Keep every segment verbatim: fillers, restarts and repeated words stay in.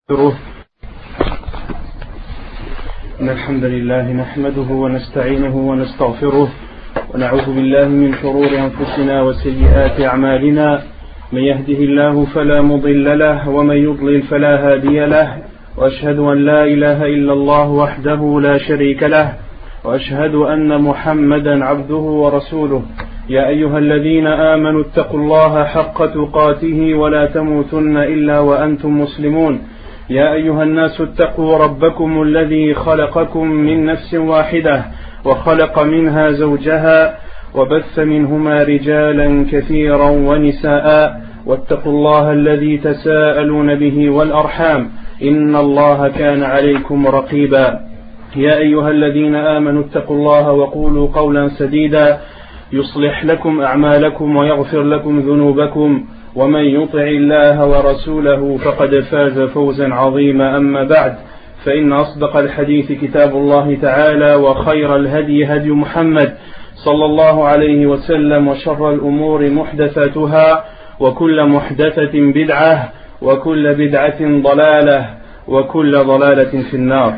إن الحمد لله نحمده ونستعينه ونستغفره ونعوذ بالله من شرور أنفسنا وسيئات أعمالنا من يهده الله فلا مضل له ومن يضلل فلا هادي له وأشهد أن لا إله إلا الله وحده لا شريك له وأشهد أن محمدا عبده ورسوله يا أيها الذين آمنوا اتقوا الله حق تقاته ولا تموتن إلا وأنتم مسلمون يا أيها الناس اتقوا ربكم الذي خلقكم من نفس واحدة وخلق منها زوجها وبث منهما رجالا كثيرا ونساء واتقوا الله الذي تساءلون به والأرحام إن الله كان عليكم رقيبا يا أيها الذين آمنوا اتقوا الله وقولوا قولا سديدا يصلح لكم أعمالكم ويغفر لكم ذنوبكم ومن يطع الله ورسوله فقد فاز فوزا عظيما أما بعد فإن أصدق الحديث كتاب الله تعالى وخير الهدي هدي محمد صلى الله عليه وسلم وشر الأمور محدثاتها وكل محدثة بدعة وكل بدعة ضلالة وكل ضلالة في النار.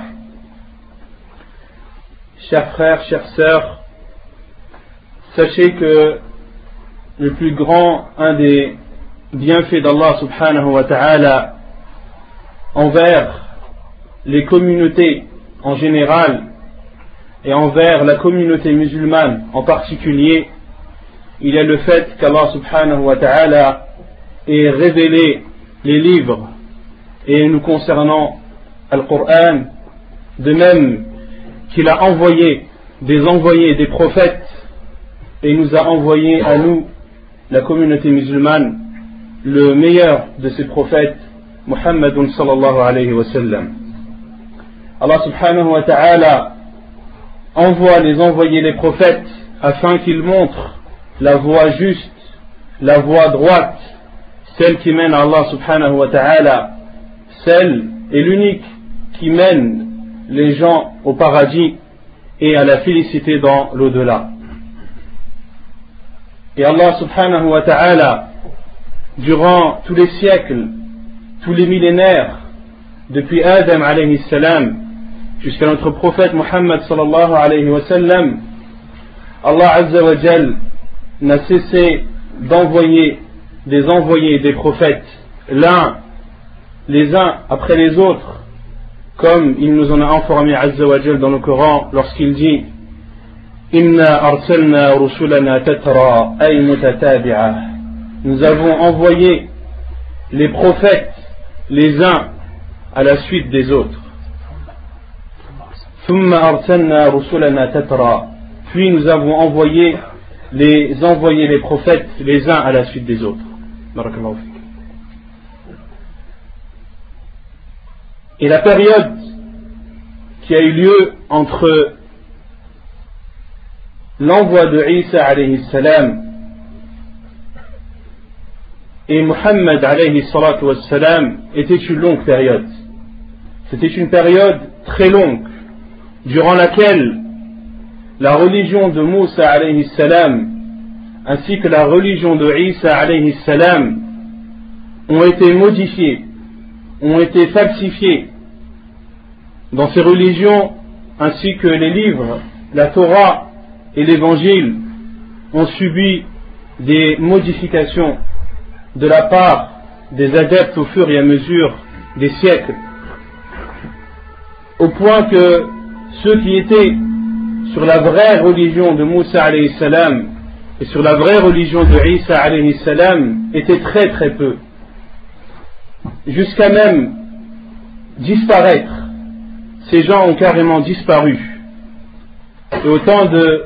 Chers frères, chères sœurs, sachez que le plus grand, un des bienfaits d'Allah subhanahu wa ta'ala envers les communautés en général et envers la communauté musulmane en particulier, il y a le fait qu'Allah subhanahu wa ta'ala ait révélé les livres et nous concernant Al-Qur'an, de même qu'il a envoyé des envoyés, des prophètes, et nous a envoyé à nous, la communauté musulmane, le meilleur de ces prophètes, Muhammadun sallallahu alayhi wa sallam. Allah subhanahu wa ta'ala envoie les envoyés, les prophètes, afin qu'ils montrent la voie juste, la voie droite, celle qui mène à Allah subhanahu wa ta'ala, celle et l'unique qui mène les gens au paradis et à la félicité dans l'au-delà. Et Allah subhanahu wa ta'ala, durant tous les siècles, tous les millénaires, depuis Adam alayhi salam jusqu'à notre prophète Muhammad sallallahu alayhi wa sallam, Allah azza wa jal n'a cessé d'envoyer des envoyés, des prophètes, l'un, les uns après les autres, comme il nous en a informé azza wa jal dans le Coran lorsqu'il dit Inna arsalna rusulana tatra ay mutatabi'a. Nous avons envoyé les prophètes les uns à la suite des autres. Thumma arsalna rusulana tatra. Puis nous avons envoyé les envoyé les prophètes les uns à la suite des autres. Barakallahu fik. Et la période qui a eu lieu entre l'envoi de Isa alayhi salam et Muhammad alayhi salatu wassalam était une longue période. C'était une période très longue durant laquelle la religion de Moussa alayhi salam ainsi que la religion de Isa alayhi salam ont été modifiées, ont été falsifiées. Dans ces religions ainsi que les livres, la Torah et l'évangile ont subi des modifications de la part des adeptes au fur et à mesure des siècles, au point que ceux qui étaient sur la vraie religion de Moussa alayhi salam et sur la vraie religion de Isa alayhi salam étaient très très peu, jusqu'à même disparaître. Ces gens ont carrément disparu. Et au temps de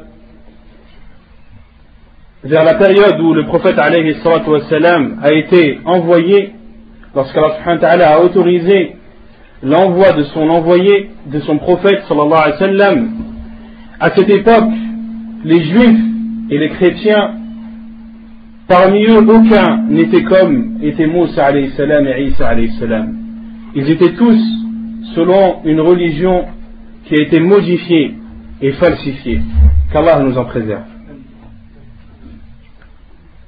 vers la période où le prophète alayhi salatu wassalam a été envoyé, lorsqu'Allah subhanahu wa ta'ala a autorisé l'envoi de son envoyé, de son prophète sallallahu alayhi wa sallam, à cette époque, les juifs et les chrétiens, parmi eux, aucun n'était comme était Moussa alayhi salam et Isa alayhi salam. Ils étaient tous selon une religion qui a été modifiée et falsifiée. Qu'Allah nous en préserve.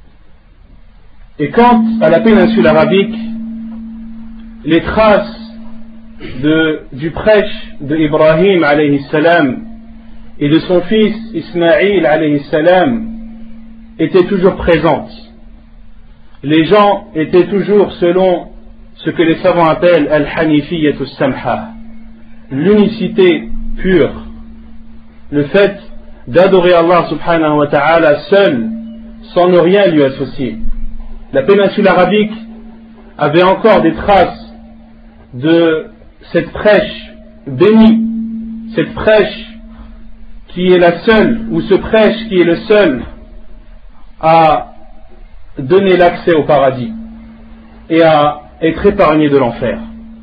Et quant à la péninsule arabique, les traces de, du prêche de Ibrahim alayhi salam et de son fils Ismaïl alayhi salam était toujours présente. Les gens étaient toujours selon ce que les savants appellent al-hanifiyatu samha, l'unicité pure, le fait d'adorer Allah subhanahu wa ta'ala seul, sans ne rien lui associer. La péninsule arabique avait encore des traces de cette prêche bénie, cette prêche qui est la seule, ou ce prêche qui est le seul à donner l'accès au paradis et à être épargné de l'enfer.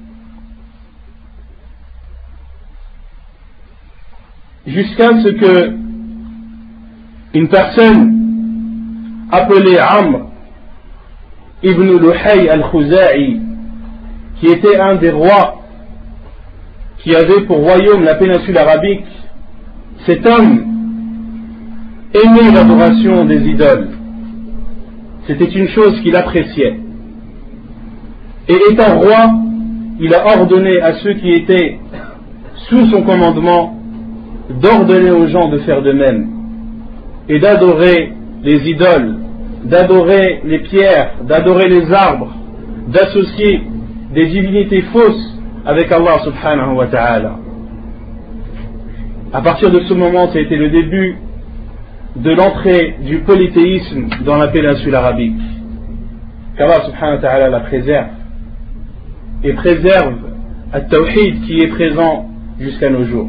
Jusqu'à ce que une personne appelée Amr ibn Luhay al-Khuza'i, qui était un des rois qui avait pour royaume la péninsule arabique, cet homme aimait l'adoration des idoles. C'était une chose qu'il appréciait. Et étant roi, il a ordonné à ceux qui étaient sous son commandement d'ordonner aux gens de faire de même et d'adorer les idoles, d'adorer les pierres, d'adorer les arbres, d'associer des divinités fausses avec Allah subhanahu wa ta'ala. À partir de ce moment, ça a été le début de l'entrée du polythéisme dans la péninsule arabique. Qu'Allah subhanahu wa ta'ala la préserve et préserve al-tawhid qui est présent jusqu'à nos jours.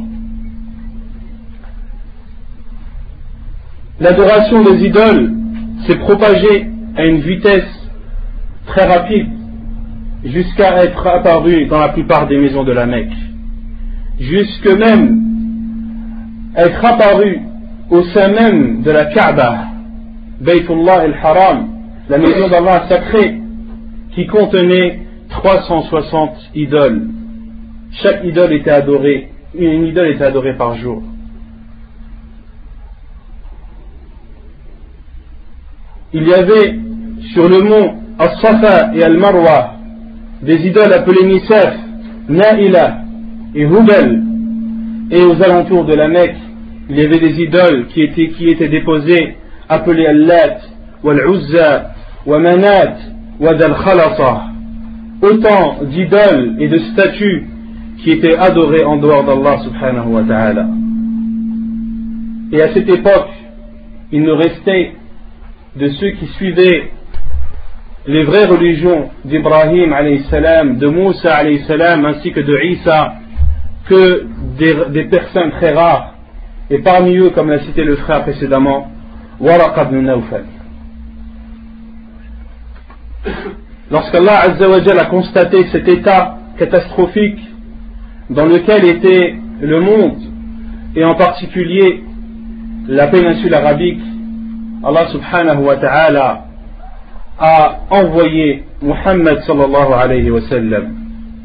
L'adoration des idoles s'est propagée à une vitesse très rapide jusqu'à être apparue dans la plupart des maisons de la Mecque, jusque même être apparue au sein même de la Kaaba, Baytullah al-Haram, la maison d'Allah sacrée, qui contenait trois cent soixante idoles. Chaque idole était adorée, une idole était adorée par jour. Il y avait sur le mont As-Safa et Al-Marwa des idoles appelées Nisaf, Naïla et Hubal, et aux alentours de la Mecque il y avait des idoles qui étaient, qui étaient déposées appelées Al-Lat, Wal-Uzza, Wa-Manat, Wad-Al-Khalasa, autant d'idoles et de statues qui étaient adorées en dehors d'Allah subhanahu wa ta'ala. Et à cette époque, il ne restait de ceux qui suivaient les vraies religions d'Ibrahim alayhi salam, de Moussa alayhi salam, ainsi que de Isa, que des, des personnes très rares, et parmi eux, comme l'a cité le frère précédemment, Waraqa ibn Nawfal. Lorsqu'Allah Azza wa Jalla a constaté cet état catastrophique dans lequel était le monde, et en particulier la péninsule arabique, Allah subhanahu wa ta'ala a envoyé Muhammad sallallahu alayhi wa sallam,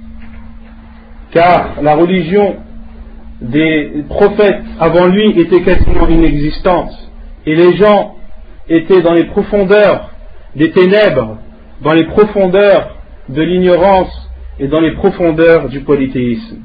car la religion des prophètes avant lui était quasiment inexistante et les gens étaient dans les profondeurs des ténèbres, dans les profondeurs de l'ignorance et dans les profondeurs du polythéisme.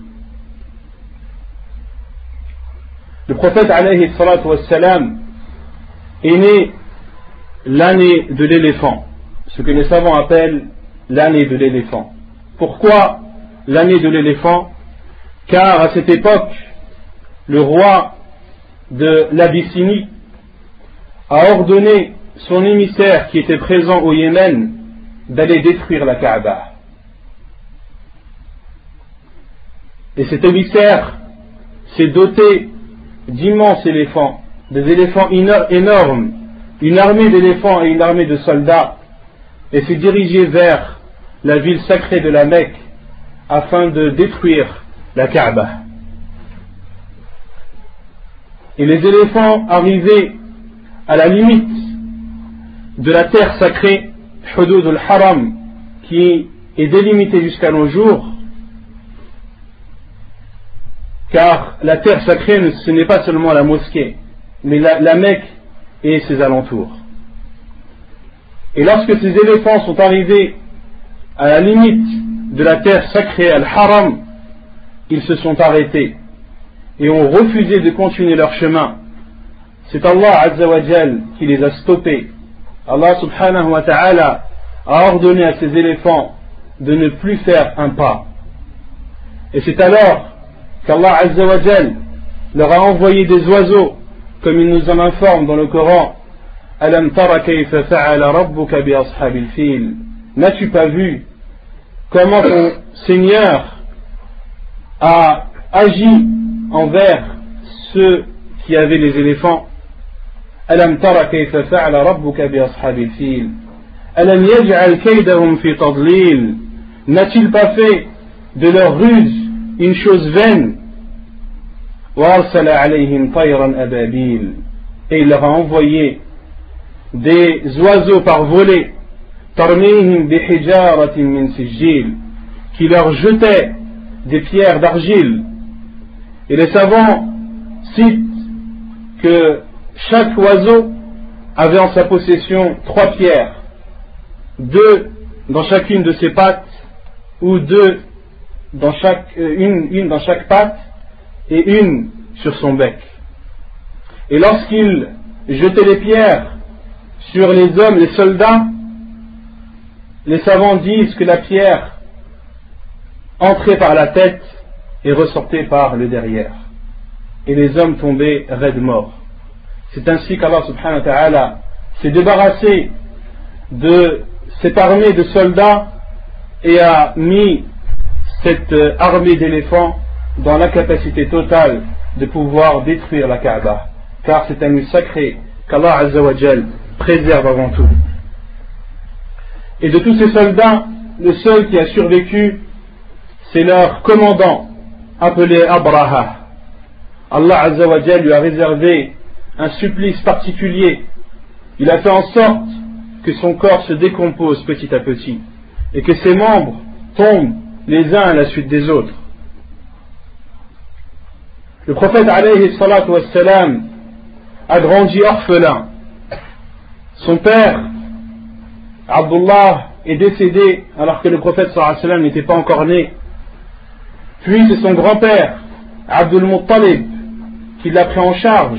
Le prophète alayhi salatu wassalam est né l'année de l'éléphant, ce que les savants appellent l'année de l'éléphant. Pourquoi l'année de l'éléphant? Car à cette époque, le roi de l'Abyssinie a ordonné son émissaire qui était présent au Yémen d'aller détruire la Kaaba. Et cet émissaire s'est doté d'immenses éléphants, des éléphants énormes, une armée d'éléphants et une armée de soldats, et s'est dirigé vers la ville sacrée de la Mecque afin de détruire la Kaaba. Et les éléphants arrivaient à la limite de la terre sacrée, Hudud al-Haram, qui est délimitée jusqu'à nos jours, car la terre sacrée, ce n'est pas seulement la mosquée, mais la, la Mecque et ses alentours. Et lorsque ces éléphants sont arrivés à la limite de la terre sacrée, al-Haram, ils se sont arrêtés et ont refusé de continuer leur chemin. C'est Allah Azza wa Jal qui les a stoppés. Allah subhanahu wa ta'ala a ordonné à ces éléphants de ne plus faire un pas. Et c'est alors qu'Allah Azza wa Jal leur a envoyé des oiseaux, comme il nous en informe dans le Coran. Alam tara kayfa fa'ala rabbuka bi ashabil fil. N'as-tu pas vu comment ton Seigneur a agi envers ceux qui avaient les éléphants? Alam tara kayfa fa'ala rabbuka bi ashabil fil. Alam yaj'al kaydahum fi tadlil. N'a-t-il pas fait de leur ruse une chose vaine? Wa arsala alayhim tayran ababil. Et il leur a envoyé des oiseaux par volée, tarmihim bi hijaratin min sijil, qui leur jetaient des pierres d'argile. Et les savants citent que chaque oiseau avait en sa possession trois pierres, deux dans chacune de ses pattes, ou deux dans chaque, une, une dans chaque patte et une sur son bec. Et lorsqu'il jetait les pierres sur les hommes, les soldats, les savants disent que la pierre entrait par la tête et ressortait par le derrière. Et les hommes tombaient raides morts. C'est ainsi qu'Allah subhanahu wa ta'ala s'est débarrassé de cette armée de soldats et a mis cette armée d'éléphants dans la capacité totale de pouvoir détruire la Kaaba, car c'est un lieu sacré qu'Allah Azza wa Jal préserve avant tout. Et de tous ces soldats, le seul qui a survécu, c'est leur commandant, appelé Abraha. Allah Azza wa Jal lui a réservé un supplice particulier. Il a fait en sorte que son corps se décompose petit à petit et que ses membres tombent les uns à la suite des autres. Le prophète alayhi salatu wassalam a grandi orphelin. Son père, Abdullah, est décédé alors que le prophète sallallahu alayhi wa sallam n'était pas encore né. Puis c'est son grand-père, Abdul Muttalib, qui l'a pris en charge.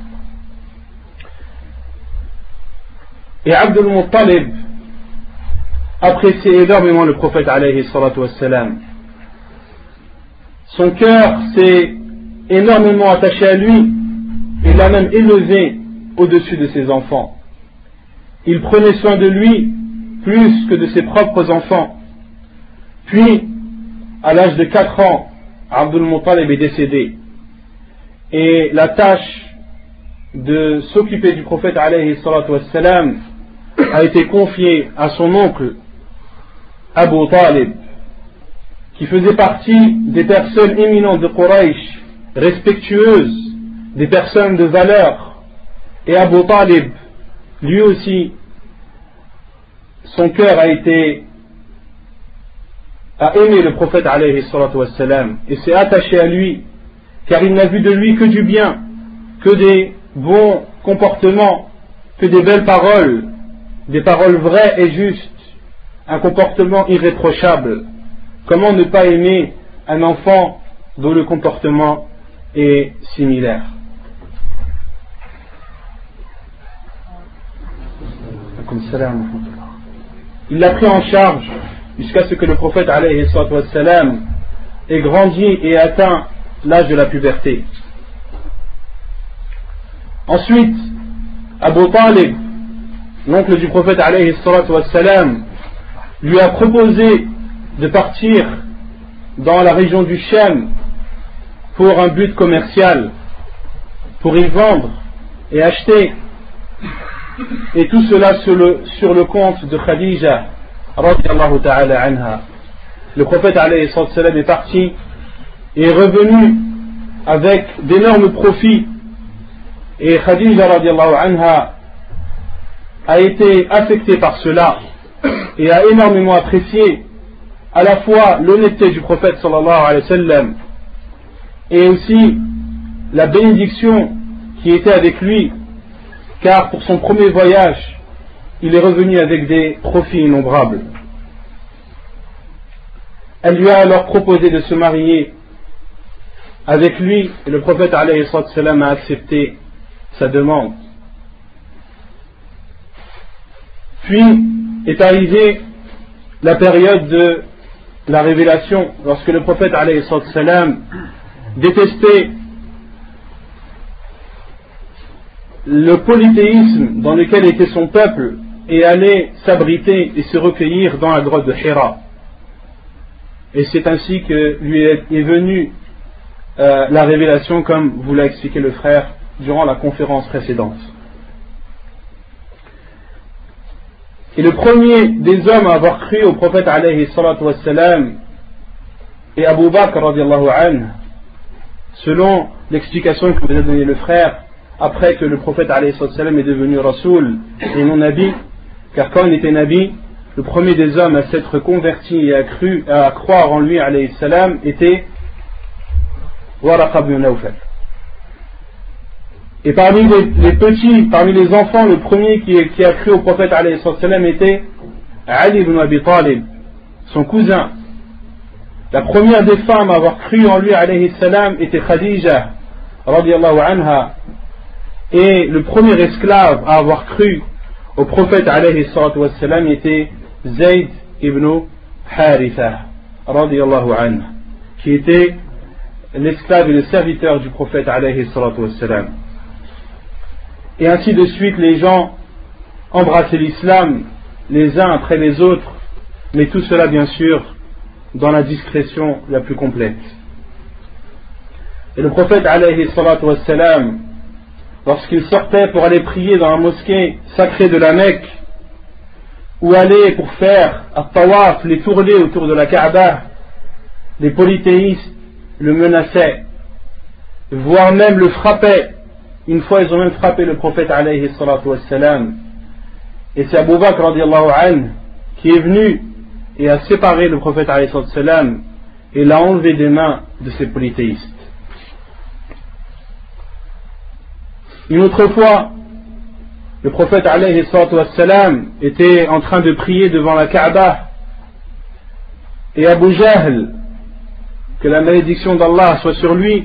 Et Abdul Muttalib appréciait énormément le prophète alayhi salatu wassalam. Son cœur s'est énormément attaché à lui et l'a même élevé au-dessus de ses enfants. Il prenait soin de lui plus que de ses propres enfants. Puis, à l'âge de quatre ans, Abdul Muttalib est décédé. Et la tâche de s'occuper du prophète alayhi salatu wassalam a été confiée à son oncle Abu Talib, qui faisait partie des personnes éminentes de Quraysh, respectueuses, des personnes de valeur. Et Abu Talib, lui aussi, son cœur a été a aimé le prophète alayhi salatu wassalam et s'est attaché à lui, car il n'a vu de lui que du bien, que des bons comportements, que des belles paroles, des paroles vraies et justes, un comportement irréprochable. Comment ne pas aimer un enfant dont le comportement est similaire? Il l'a pris en charge jusqu'à ce que le prophète alayhi salatu wassalam ait grandi et atteint l'âge de la puberté. Ensuite, Abu Talib, l'oncle du prophète alayhi salatu wassalam, lui a proposé de partir dans la région du Sham pour un but commercial, pour y vendre et acheter, et tout cela sur le, sur le compte de Khadija radiyallahu ta'ala anha. Le prophète alayhi salatu wassalam est parti et est revenu avec d'énormes profits, et Khadija radiyallahu anha a été affectée par cela et a énormément apprécié à la fois l'honnêteté du prophète sallallahu alayhi wa sallam et aussi la bénédiction qui était avec lui, car pour son premier voyage il est revenu avec des profits innombrables. Elle lui a alors proposé de se marier avec lui et le prophète alayhi salam a accepté sa demande. Puis est arrivée la période de la révélation, lorsque le prophète alayhi salam détestait le polythéisme dans lequel était son peuple et allait s'abriter et se recueillir dans la grotte de Hira. Et c'est ainsi que lui est venue euh, la révélation, comme vous l'a expliqué le frère durant la conférence précédente. Et le premier des hommes à avoir cru au prophète alayhi salatu wassalam est Abu Bakr radiallahu anhu, selon l'explication que vous a donné le frère, après que le prophète alayhi salatu wassalam est devenu Rasoul et non Nabi, car quand il était Nabi, le premier des hommes à s'être converti et à, cru, à croire en lui alayhi salam était Waraqa ibn Nawfal. Et parmi les, les petits, parmi les enfants, le premier qui, qui a cru au prophète alayhi salam était Ali ibn Abi Talib, son cousin. La première des femmes à avoir cru en lui alayhi salam était Khadija radiallahu anha, et le premier esclave à avoir cru au prophète alayhi salam était Zayd ibn Haritha radiallahu anhu, qui était l'esclave et le serviteur du prophète alayhi salam. Et ainsi de suite, les gens embrassaient l'islam les uns après les autres, mais tout cela bien sûr dans la discrétion la plus complète. Et le prophète alayhi salam, lorsqu'il sortait pour aller prier dans la mosquée sacrée de la Mecque, ou aller pour faire at-tawaf, les tournées autour de la Kaaba, les polythéistes le menaçaient, voire même le frappaient. Une fois, ils ont même frappé le prophète alayhi salatu wassalam. Et c'est Abu Bakr radiallahu anhu qui est venu et a séparé le prophète alayhi salatu wassalam et l'a enlevé des mains de ces polythéistes. Une autre fois, le prophète alayhi salatu wassalam était en train de prier devant la Kaaba, et Abu Jahl, que la malédiction d'Allah soit sur lui,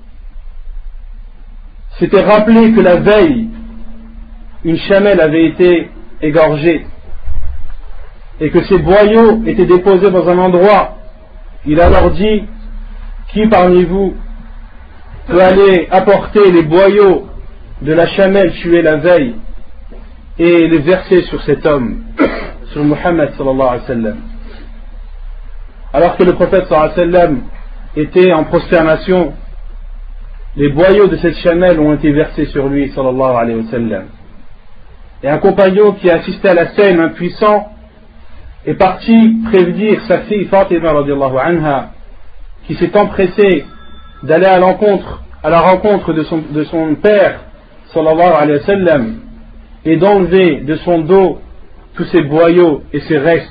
s'était rappelé que la veille, une chamelle avait été égorgée et que ses boyaux étaient déposés dans un endroit. Il a alors dit: qui parmi vous peut aller apporter les boyaux de la chamelle tuée la veille et les verser sur cet homme, sur Muhammad sallallahu alayhi wa sallam? Alors que le prophète sallallahu alayhi wa sallam était en prosternation, les boyaux de cette chamelle ont été versés sur lui sallallahu alayhi wa sallam. Et un compagnon qui a assisté à la scène, impuissant, est parti prévenir sa fille Fatima radiallahu anha, qui s'est empressée d'aller à l'encontre, à la rencontre de son, de son père sallallahu alayhi wa sallam, et d'enlever de son dos tous ses boyaux et ses restes.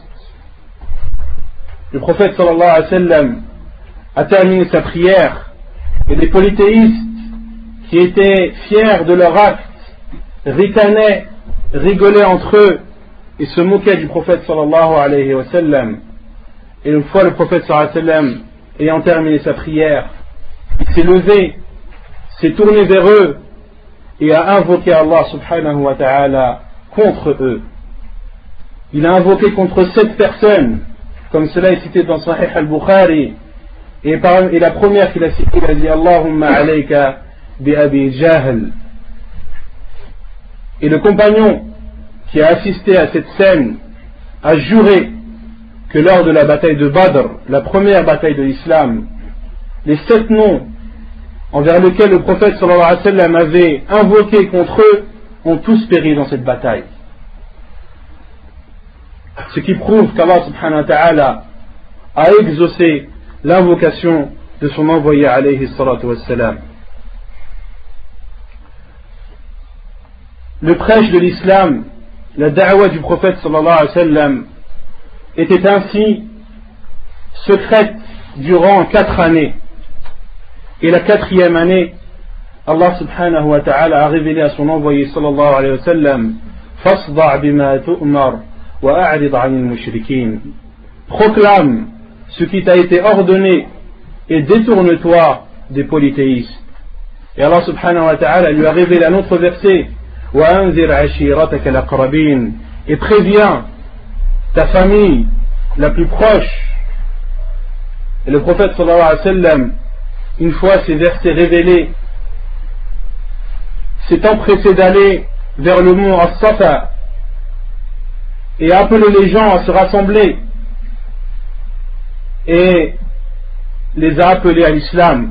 Le prophète sallallahu alayhi wa sallam a terminé sa prière, et les polythéistes qui étaient fiers de leur acte ricanaient, rigolaient entre eux et se moquaient du prophète sallallahu alayhi wa sallam. Et une fois le prophète sallallahu alayhi wa sallam ayant terminé sa prière, il s'est levé, s'est tourné vers eux et a invoqué Allah subhanahu wa ta'ala contre eux. Il a invoqué contre sept personnes, comme cela est cité dans Sahih al-Bukhari. Et, par, et la première qu'il a citée, il a dit: Allahumma alayka bi Abi Jahl. Et le compagnon qui a assisté à cette scène a juré que lors de la bataille de Badr, la première bataille de l'islam, les sept noms envers lesquels le prophète sallallahu alayhi wa sallam avait invoqué contre eux ont tous péri dans cette bataille. Ce qui prouve qu'Allah subhanahu wa ta'ala a exaucé l'invocation de son envoyé alayhi salatu wassalam. Le prêche de l'islam, la da'wa du prophète sallallahu alayhi wa sallam, était ainsi secrète durant quatre années. Et la quatrième année, Allah subhanahu wa ta'ala a révélé à son envoyé sallallahu alayhi wa sallam: Fasda' bima tu'mar wa a'rid 'anil mushrikin. Proclame ce qui t'a été ordonné et détourne-toi des polythéistes. Et Allah subhanahu wa ta'ala lui a révélé un autre verset, وَأَنذِرْ عَشِيرَتَكَ الْأَقْرَبِينَ, et préviens ta famille la plus proche. Et le prophète sallallahu alayhi wa sallam, une fois ces versets révélés, s'est empressé d'aller vers le mont As-Safa et a appelé les gens à se rassembler et les a appelés à l'islam,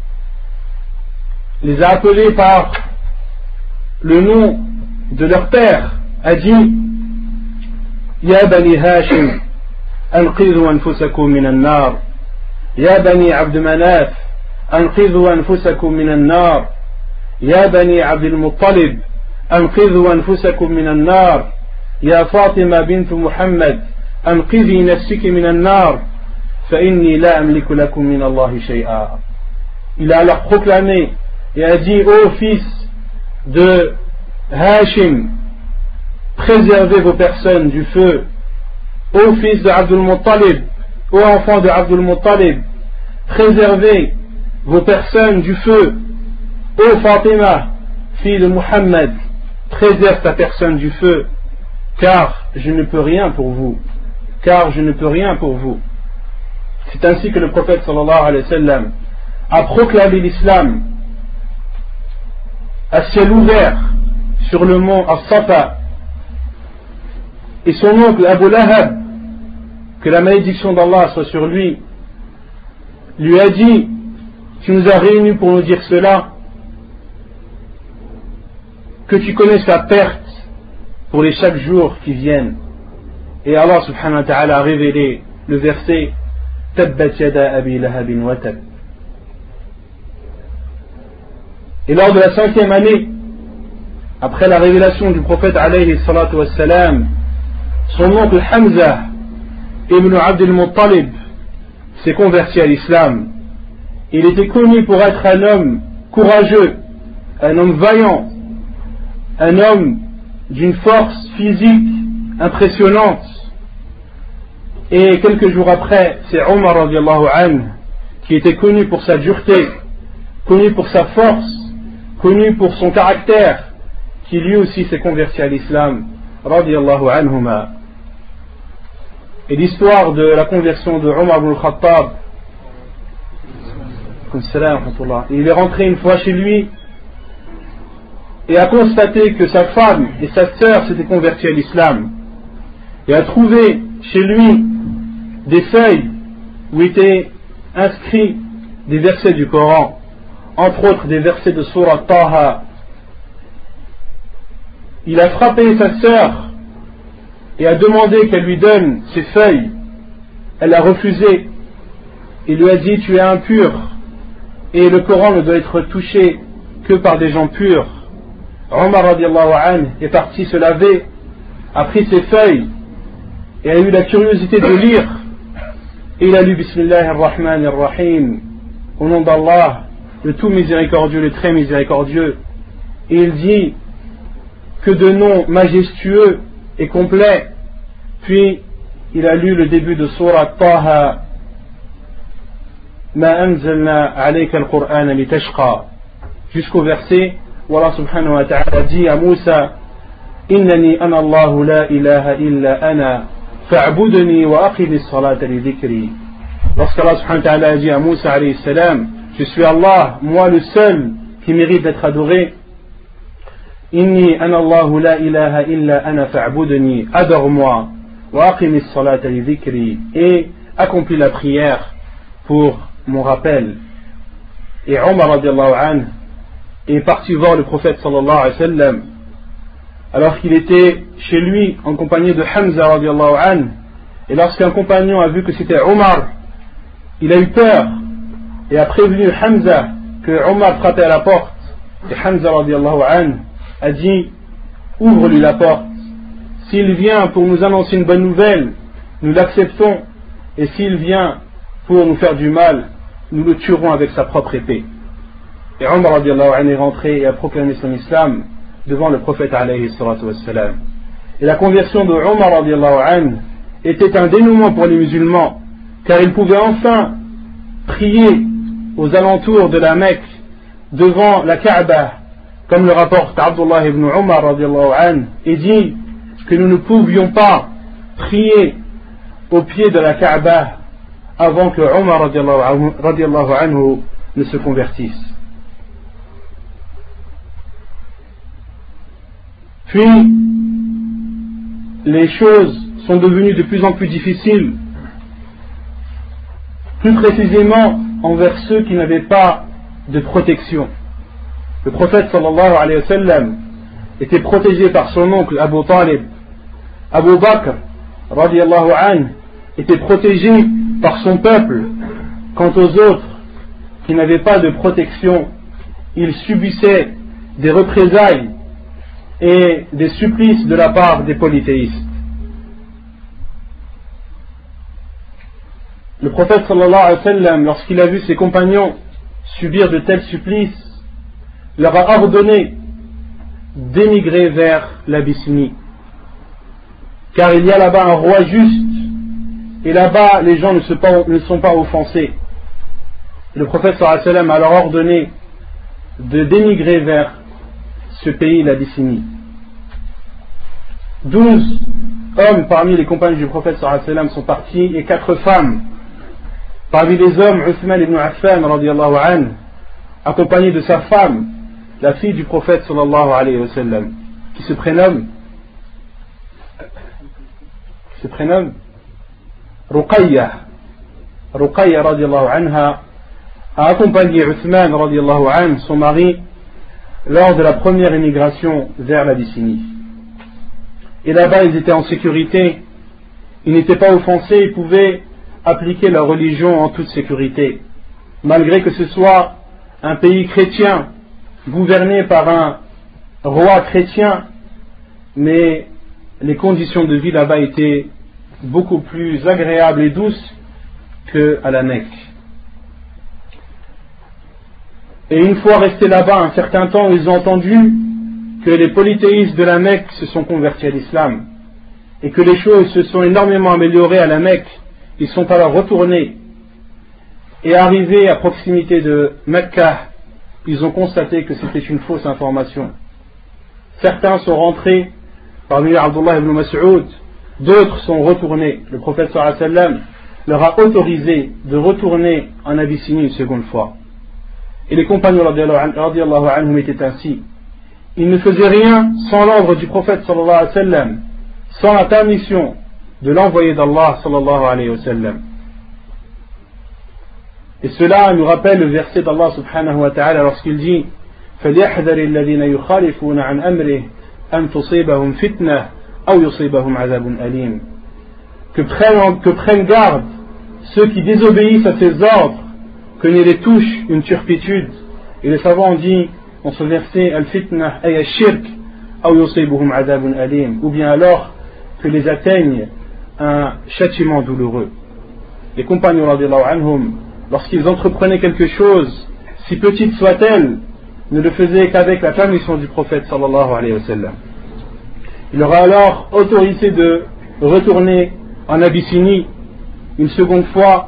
les a appelés par le nom de leur père, a dit Ya bani Hashim anqidhu anfusakum min an-nar, Ya bani Abd Manaf anqidhu anfusakum min an-nar, Ya bani Abd al-Muttalib anqidhu anfusakum min an-nar, Ya Fatima bint Muhammad anqidhi nafsiki min an-nar, fa inni la amliku lakum min Allahi shay'a. Il a alors proclamé et a dit ô fils de Hashim, préservez vos personnes du feu. Ô fils de Abdul Muttalib, ô enfant de Abdul Muttalib, préservez vos personnes du feu. Ô Fatima, fille de Muhammad, préserve ta personne du feu, car je ne peux rien pour vous, car je ne peux rien pour vous. C'est ainsi que le prophète sallallahu alayhi wa sallam a proclamé l'islam à ciel ouvert sur le mont As-Safa, et son oncle Abu Lahab, que la malédiction d'Allah soit sur lui, lui a dit tu nous as réunis pour nous dire cela, que tu connaisses la perte pour les chaque jour qui viennent. Et Allah subhanahu wa ta'ala a révélé le verset Tabbat yada abi lahabin wa tab. Et lors de la cinquième année, après la révélation du prophète alayhi salatu wassalam, son oncle Hamza ibn Abd al-Muttalib s'est converti à l'islam. Il était connu pour être un homme courageux, un homme vaillant, un homme d'une force physique impressionnante. Et quelques jours après, c'est Omar radiallahu anhu, qui était connu pour sa dureté, connu pour sa force, connu pour son caractère, qui lui aussi s'est converti à l'islam radiallahu anhuma. Et l'histoire de la conversion de Omar ibn al-Khattab, il est rentré une fois chez lui et a constaté que sa femme et sa sœur s'étaient converties à l'islam, et a trouvé chez lui des feuilles où étaient inscrits des versets du Coran, entre autres des versets de Surah Taha. Il a frappé sa sœur et a demandé qu'elle lui donne ces feuilles. Elle a refusé. Il lui a dit tu es impur et le Coran ne doit être touché que par des gens purs. Omar radiallahu anhu est parti se laver, a pris ses feuilles et a eu la curiosité de lire, et il a lu Bismillah ar-Rahman ar-Rahim, au nom d'Allah, le tout miséricordieux, le très miséricordieux, et il dit que de noms majestueux et complets. Puis il a lu le début de Surah Taha, Ma anzalna alayka al-Qur'an li tashqa, jusqu'au verset où Allah subhanahu wa ta'ala dit à Moussa Innani ana Allahu la ilaha illa ana fa'budni wa aqimi as-salata li dhikri. Lorsqu'Allah subhanahu wa ta'ala a dit à Moussa alayhi salam je suis Allah, moi le seul qui mérite d'être adoré, Inni ana Allahu la ilaha illa ana fa'budni, adore-moi, wa aqimi as-salata li dhikri, et accomplis la prière pour mon rappel. Et Omar radiallahu anhu est parti voir le prophète sallallahu alayhi wa sallam alors qu'il était chez lui en compagnie de Hamza radiallahu anhu, et lorsqu'un compagnon a vu que c'était Omar, il a eu peur et a prévenu Hamza que Omar frappait à la porte, et Hamza radiallahu anhu a dit ouvre-lui la porte, s'il vient pour nous annoncer une bonne nouvelle nous l'acceptons, et s'il vient pour nous faire du mal nous le tuerons avec sa propre épée. Et Omar radiallahu anhu est rentré et a proclamé son islam devant le prophète alayhi salatu wassalam. Et la conversion de Omar radiallahu anhu était un dénouement pour les musulmans, car ils pouvaient enfin prier aux alentours de la Mecque, devant la Kaaba, comme le rapporte Abdullah ibn Umar radiallahu anhu, et dit que nous ne pouvions pas prier au pied de la Kaaba avant que Umar radiallahu anhu ne se convertisse. Puis, les choses sont devenues de plus en plus difficiles, plus précisément envers ceux qui n'avaient pas de protection. Le prophète sallallahu alayhi wa sallam était protégé par son oncle Abu Talib. Abu Bakr radiallahu anhu était protégé par son peuple. Quant aux autres qui n'avaient pas de protection, ils subissaient des représailles et des supplices de la part des polythéistes. Le prophète sallallahu alayhi wa sallam, lorsqu'il a vu ses compagnons subir de tels supplices, leur a ordonné d'émigrer vers l'Abyssinie, car il y a là-bas un roi juste, et là-bas les gens ne sont pas, ne sont pas offensés. Le prophète sallallahu alayhi wa sallam a alors ordonné de d'émigrer vers ce pays, l'Abyssinie. Douze hommes parmi les compagnons du prophète sallallahu alayhi wa sallam sont partis, et quatre femmes. Parmi les hommes, Uthman ibn Affan radiallahu anhu, accompagné de sa femme, la fille du prophète sallallahu alayhi wa sallam, qui se prénomme qui se prénomme Ruqayya. Ruqayya radiallahu anha a accompagné Uthman radiallahu anhu, son mari, lors de la première émigration vers l'Abyssinie. Et là-bas, ils étaient en sécurité, ils n'étaient pas offensés, ils pouvaient appliquer leur religion en toute sécurité, malgré que ce soit un pays chrétien, gouverné par un roi chrétien, mais les conditions de vie là-bas étaient beaucoup plus agréables et douces qu'à la Mecque. Et une fois restés là-bas un certain temps, ils ont entendu que les polythéistes de la Mecque se sont convertis à l'islam, et que les choses se sont énormément améliorées à la Mecque. Ils sont alors retournés, et arrivés à proximité de Mecca, ils ont constaté que c'était une fausse information. Certains sont rentrés, parmi Abdullah ibn Mas'ud, d'autres sont retournés. Le prophète sallallahu alayhi wa sallam leur a autorisé de retourner en Abyssinie une seconde fois. Et les compagnons radiallahu anhum étaient ainsi. Ils ne faisaient rien sans l'ordre du prophète sallallahu alayhi wa sallam, sans la permission de l'envoyé d'Allah sallallahu alayhi wa sallam. Et cela nous rappelle le verset d'Allah subhanahu wa ta'ala lorsqu'il dit فَلْيَحْذَرِ الَّذِينَ يُخَالِفُونَ عَنْ أَمْرِهِ أَنْ تُصِيبَهُمْ فِتْنَةٌ أَوْ يُصِيبَهُمْ عَذَابٌ أَلِيمٌ. Que prennent, que prennent garde ceux qui désobéissent à ses ordres, que ne les touche une turpitude. Et les savants ont dit dans ce verset al-fitna ay al-shirk aw yusibuhum adhabun alim, ou bien alors que les atteigne un châtiment douloureux. Les compagnons radiallahu anhum, lorsqu'ils entreprenaient quelque chose, si petite soit-elle, ne le faisaient qu'avec la permission du prophète sallallahu alayhi wa sallam. Il leur a alors autorisé de retourner en Abyssinie une seconde fois,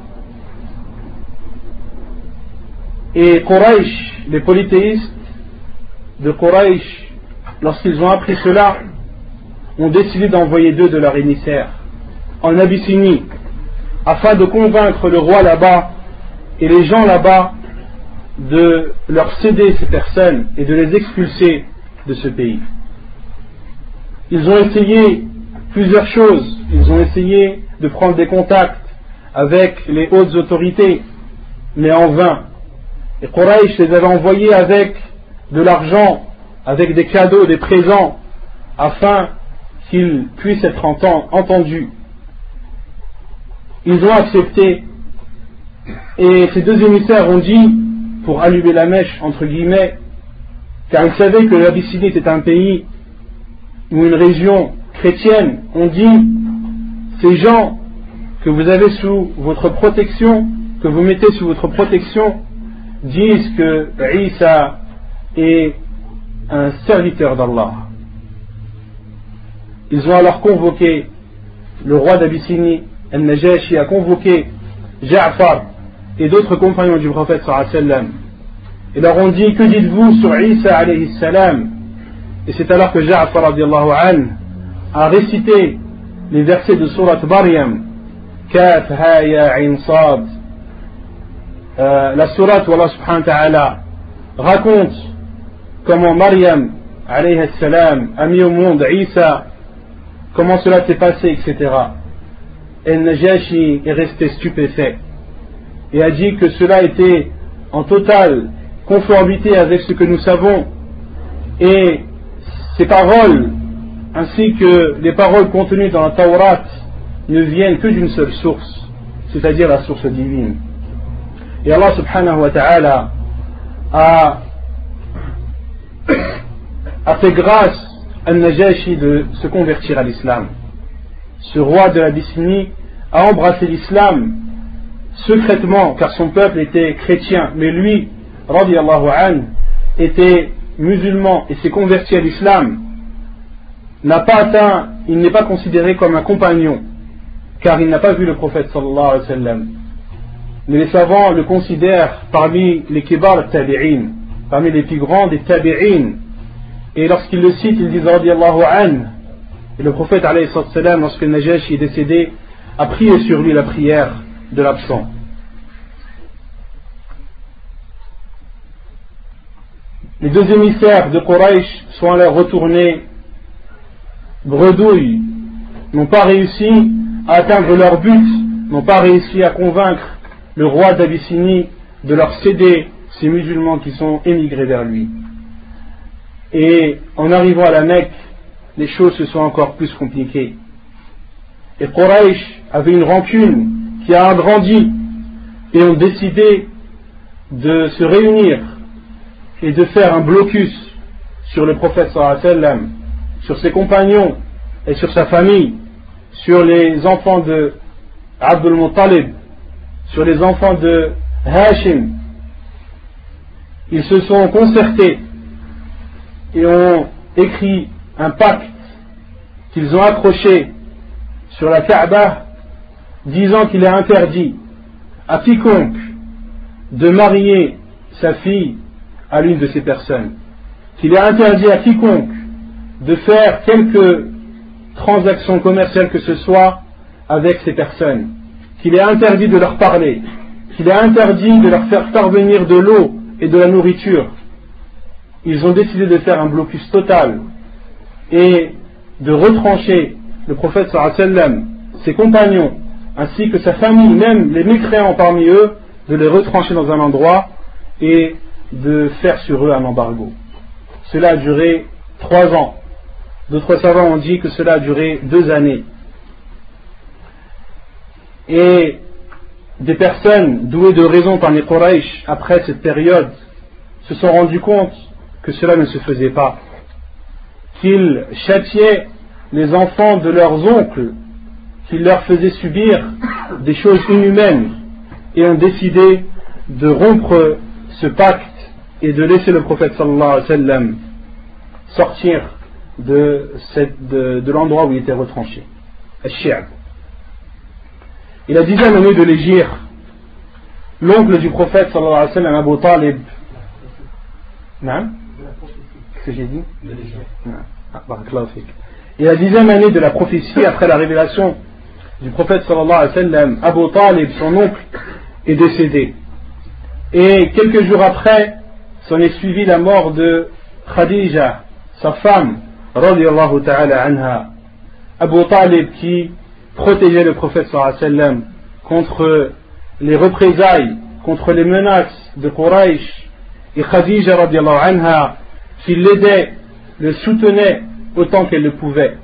et Quraysh, les polythéistes de Quraysh, lorsqu'ils ont appris cela, ont décidé d'envoyer deux de leurs émissaires en Abyssinie afin de convaincre le roi là-bas et les gens là-bas de leur céder ces personnes et de les expulser de ce pays. Ils ont essayé plusieurs choses. Ils ont essayé de prendre des contacts avec les hautes autorités, mais en vain. Et Quraysh les avait envoyés avec de l'argent, avec des cadeaux, des présents, afin qu'ils puissent être entendus. Ils ont accepté, et ces deux émissaires ont dit, pour allumer la mèche entre guillemets, car ils savaient que l'Abyssinie était un pays ou une région chrétienne, ont dit, ces gens que vous avez sous votre protection, que vous mettez sous votre protection, disent que Isa est un serviteur d'Allah. Ils ont alors convoqué le roi d'Abyssinie, Al-Najashi, a convoqué Ja'far et d'autres compagnons du prophète sallallahu alayhi wa sallam. Ils leur ont dit, que dites-vous sur Isa alayhi salam? Et c'est alors que Ja'far radiallahu anhu a récité les versets de Surat Maryam, Kaf ha ya ayn sad, euh, la sourate où Allah subhanahu wa ta'ala raconte comment Maryam alayhi salam a mis au monde Isa, comment cela s'est passé, et cetera. Et Najashi est resté stupéfait et a dit que cela était en totale conformité avec ce que nous savons, et ces paroles ainsi que les paroles contenues dans la Tawrat ne viennent que d'une seule source, c'est-à-dire la source divine. Et Allah subhanahu wa ta'ala a, a fait grâce à Najashi de se convertir à l'islam. Ce roi de l'Abyssinie a embrassé l'islam secrètement car son peuple était chrétien, mais lui, radiyallahu anhu, était musulman et s'est converti à l'islam. N'a pas atteint, il n'est pas considéré comme un compagnon car il n'a pas vu le prophète sallallahu alayhi wa sallam. Mais les savants le considèrent parmi les kibar tabi'in, parmi les plus grands des tabi'in. Et lorsqu'ils le citent, ils disent radiyallahu anhu. Et le prophète alayhi salam, lorsque Najashi est décédé, a prié sur lui la prière de l'absent. Les deux émissaires de Quraysh sont alors retournés bredouilles, n'ont pas réussi à atteindre leur but, n'ont pas réussi à convaincre le roi d'Abyssinie de leur céder ces musulmans qui sont émigrés vers lui. Et en arrivant à la Mecque, les choses se sont encore plus compliquées. Et Quraysh avait une rancune qui a agrandi et ont décidé de se réunir et de faire un blocus sur le prophète sallallahu alayhi wa sallam, sur ses compagnons et sur sa famille, sur les enfants de Abdul Muttalib, sur les enfants de Hashim. Ils se sont concertés et ont écrit un pacte qu'ils ont accroché sur la Kaaba, disant qu'il est interdit à quiconque de marier sa fille à l'une de ces personnes, qu'il est interdit à quiconque de faire quelque transaction commerciale que ce soit avec ces personnes, qu'il est interdit de leur parler, qu'il est interdit de leur faire parvenir de l'eau et de la nourriture. Ils ont décidé de faire un blocus total et de retrancher le prophète sallallahu alayhi wa sallam, ses compagnons, ainsi que sa famille, même les mécréants parmi eux, de les retrancher dans un endroit et de faire sur eux un embargo. Cela a duré trois ans. D'autres savants ont dit que cela a duré deux années. Et des personnes douées de raison parmi les Quraysh, après cette période, se sont rendues compte que cela ne se faisait pas, qu'ils châtiaient les enfants de leurs oncles, qu'ils leur faisaient subir des choses inhumaines, et ont décidé de rompre ce pacte et de laisser le prophète sallallahu alayhi wa sallam sortir de, cette, de, de l'endroit où il était retranché, Al-Shi'ab. Et la dixième année de l'Hégire, l'oncle du prophète sallallahu alayhi wa sallam, Abu Talib, non? Qu'est-ce que j'ai dit? Et la dixième année de la prophétie, après la révélation du prophète sallallahu alayhi wa sallam, Abu Talib, son oncle, est décédé. Et quelques jours après, s'en est suivi la mort de Khadija, sa femme, radiyallahu ta'ala anha. Abu Talib, qui protégeait le prophète sallallahu alayhi wa sallam contre les représailles, contre les menaces de Quraysh, et Khadija, radiyallahu anha, qui l'aidait, le soutenait autant qu'elle le pouvait.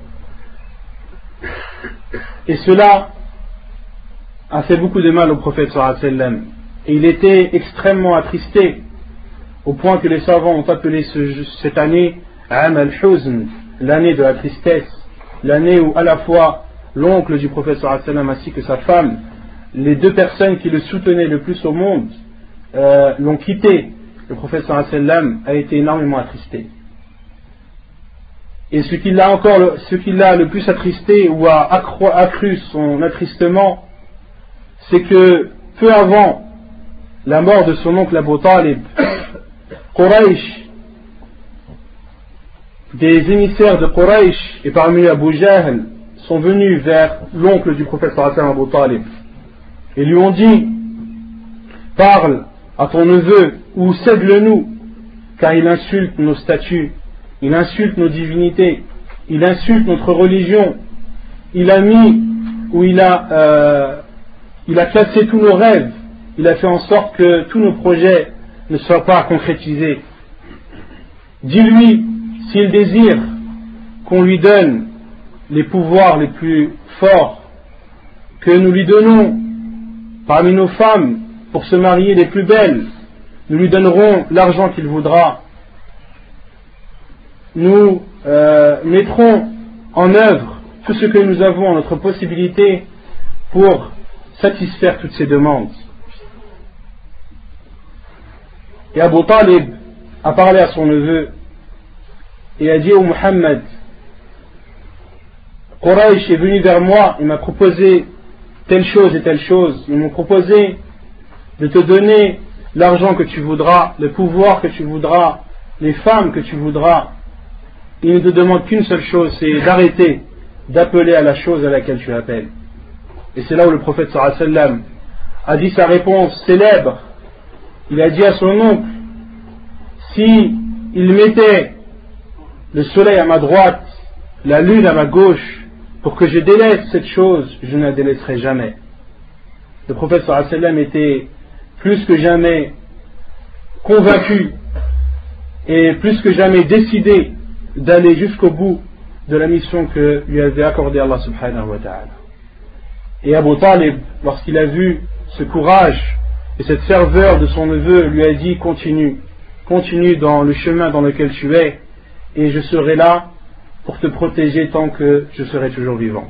Et cela a fait beaucoup de mal au prophète sallallahu alayhi wa sallam. Et il était extrêmement attristé, au point que les savants ont appelé ce, cette année Am al-Huzn, l'année de la tristesse, l'année où à la fois l'oncle du prophète sallallahu alayhi wa sallam ainsi que sa femme, les deux personnes qui le soutenaient le plus au monde, euh, l'ont quitté. Le prophète sallallahu alayhi wa sallam a été énormément attristé. Et ce qui l'a encore, ce qui l'a le plus attristé ou a accru, accru son attristement, c'est que peu avant la mort de son oncle Abu Talib, Quraysh, des émissaires de Quraysh et parmi Abu Jahl sont venus vers l'oncle du prophète sallallahu alayhi wa sallam, Abu Talib, et lui ont dit: parle à ton neveu ou cède-le-nous, car il insulte nos statuts, il insulte nos divinités, il insulte notre religion, il a mis ou il a, euh, il a cassé tous nos rêves, il a fait en sorte que tous nos projets ne soient pas concrétisés. Dis-lui s'il désire qu'on lui donne les pouvoirs les plus forts, que nous lui donnons parmi nos femmes pour se marier les plus belles, nous lui donnerons l'argent qu'il voudra, nous euh, mettrons en œuvre tout ce que nous avons en notre possibilité pour satisfaire toutes ces demandes. Et Abu Talib a parlé à son neveu et a dit: ô Muhammad, Quraysh est venu vers moi, il m'a proposé telle chose et telle chose, ils m'ont proposé de te donner l'argent que tu voudras, le pouvoir que tu voudras, les femmes que tu voudras. Ils ne te demandent qu'une seule chose, c'est d'arrêter d'appeler à la chose à laquelle tu appelles. Et c'est là où le prophète sallallahu alayhi wa sallam a dit sa réponse célèbre. Il a dit à son oncle: si il mettait le soleil à ma droite, la lune à ma gauche, pour que je délaisse cette chose, je ne la délaisserai jamais. Le prophète sallallahu alayhi wa sallam était plus que jamais convaincu et plus que jamais décidé d'aller jusqu'au bout de la mission que lui avait accordée Allah subhanahu wa ta'ala. Et Abu Talib, lorsqu'il a vu ce courage et cette ferveur de son neveu, lui a dit: continue, continue dans le chemin dans lequel tu es, et je serai là pour te protéger tant que je serai toujours vivant.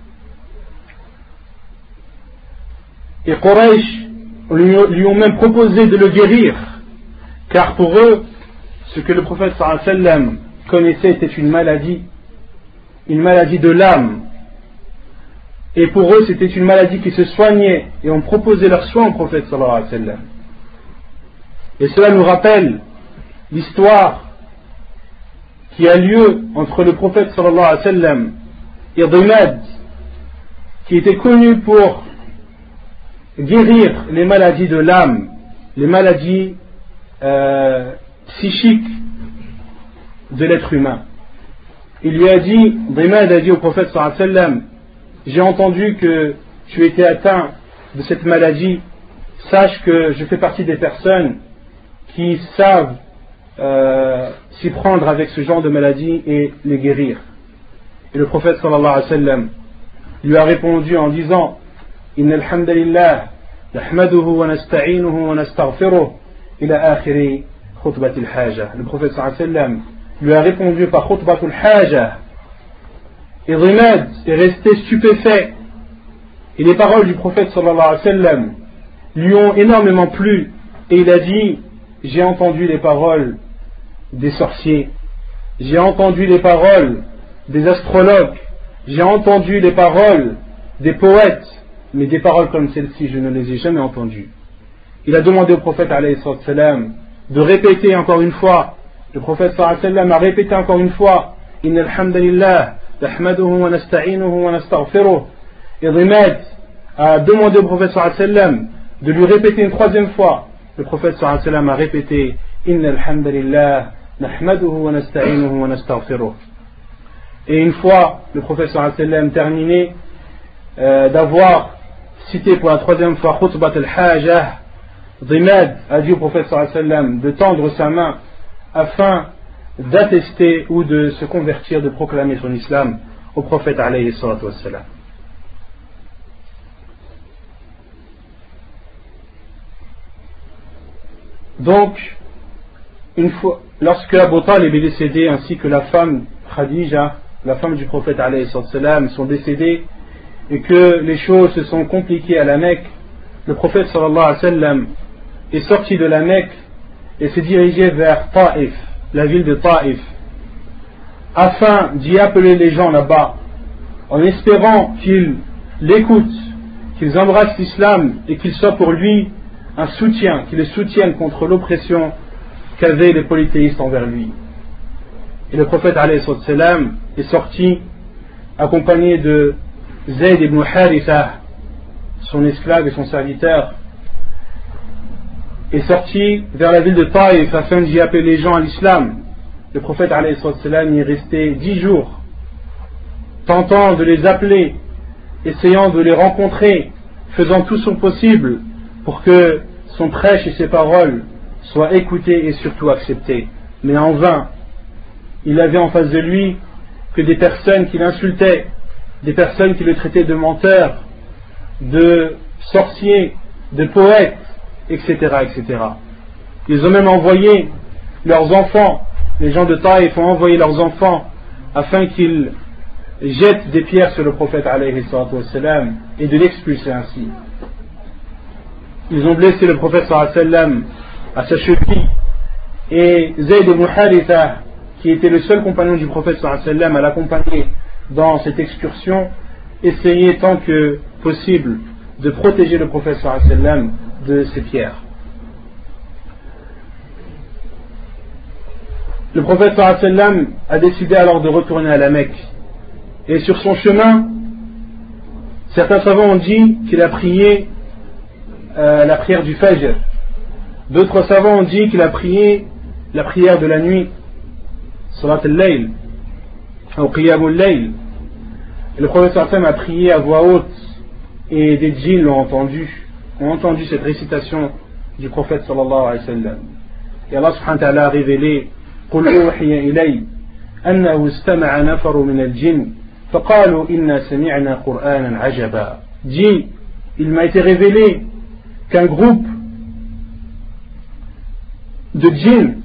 Et Quraysh lui ont même proposé de le guérir, car pour eux, ce que le prophète sallallahu alayhi wa sallam connaissait était une maladie, une maladie de l'âme. Et pour eux, c'était une maladie qui se soignait, et on proposait leur soin au prophète sallallahu alayhi wa sallam. Et cela nous rappelle l'histoire qui a lieu entre le prophète sallallahu alayhi wa sallam et Dhimad, qui était connu pour guérir les maladies de l'âme, les maladies euh, psychiques de l'être humain. Il lui a dit, Dhimad a dit au prophète sallallahu alayhi wa sallam: j'ai entendu que tu étais atteint de cette maladie, sache que je fais partie des personnes qui savent euh, s'y prendre avec ce genre de maladie et les guérir. Et le prophète sallallahu alayhi wa sallam lui a répondu en disant: Inna alhamdulillah, nahmaduhu wa nasta'inuhu wa nastaghfiruh ila akhiri khutbatil haja. Le prophète sallallahu alayhi wa sallam lui a répondu par khutbatul haja. Et Dhimad est resté stupéfait. Et les paroles du prophète sallallahu alayhi wa sallam lui ont énormément plu. Et il a dit: j'ai entendu les paroles des sorciers, j'ai entendu les paroles des astrologues, j'ai entendu les paroles des poètes, mais des paroles comme celle-ci, je ne les ai jamais entendues. Il a demandé au prophète alayhi salam de répéter encore une fois. Le prophète sallallahu alayhi wa sallam a répété encore une fois: Inna alhamdulillah, nahmaduhu wa nasta'inuhu wa nastaghfiruh. Et Dhimad a demandé au prophète sallallahu alayhi wa sallam de lui répéter une troisième fois. Le prophète sallallahu alayhi wa sallam a répété: Inna alhamdulillah, nahmaduhu wa nasta'inuhu wa nastaghfiruh. Et une fois le prophète sallallahu alayhi wa sallam terminé euh, d'avoir cité pour la troisième fois khutbat al-hajah, Dhimad a dit au prophète sallallahu alayhi wa sallam de tendre sa main afin d'attester ou de se convertir, de proclamer son islam au prophète alayhi salatu wassalam. Donc, une fois, lorsque Abu Talib est décédé, ainsi que la femme Khadija, la femme du prophète alayhi salatu wassalam, sont décédées, et que les choses se sont compliquées à la Mecque, le prophète sallallahu alayhi wa sallam est sorti de la Mecque et s'est dirigé vers Taïf, la ville de Taïf, afin d'y appeler les gens là-bas, en espérant qu'ils l'écoutent, qu'ils embrassent l'islam et qu'il soit pour lui un soutien, qui le soutienne contre l'oppression qu'avaient les polythéistes envers lui. Et le prophète alayhi salam est sorti accompagné de Zayd ibn Haritha, son esclave et son serviteur, est sorti vers la ville de Taïf afin d'y appeler les gens à l'islam. Le prophète alayhi salam y est resté dix jours, tentant de les appeler, essayant de les rencontrer, faisant tout son possible pour que son prêche et ses paroles soient écoutées et surtout acceptées. Mais en vain, il avait en face de lui que des personnes qui l'insultaient, des personnes qui le traitaient de menteur, de sorcier, de poète, et cetera, et cetera. Ils ont même envoyé leurs enfants, les gens de Taïf ont envoyé leurs enfants afin qu'ils jettent des pierres sur le prophète alayhi salam et de l'expulser ainsi. Ils ont blessé le prophète sallam à sa cheville, et Zayd ibn Haritha, qui était le seul compagnon du prophète sallam à l'accompagner dans cette excursion, essayait tant que possible de protéger le prophète sallam de ces pierres. Le prophète sallam a décidé alors de retourner à la Mecque, et sur son chemin, certains savants ont dit qu'il a prié euh, la prière du Fajr. D'autres savants ont dit qu'il a prié la prière de la nuit, Salat al-Layl, ou Qiyam al-Layl. Le prophète sallam a prié à voix haute, et des djinns l'ont entendu, ont entendu cette récitation du prophète sallallahu alayhi wa sallam. Et Allah subhanahu wa ta'ala a révélé قل أوحي إلي أنه استمع نفر من الجن فقالوا إنا سمعنا قرآنا عجبا. Dit, il m'a été révélé qu'un groupe de djinns,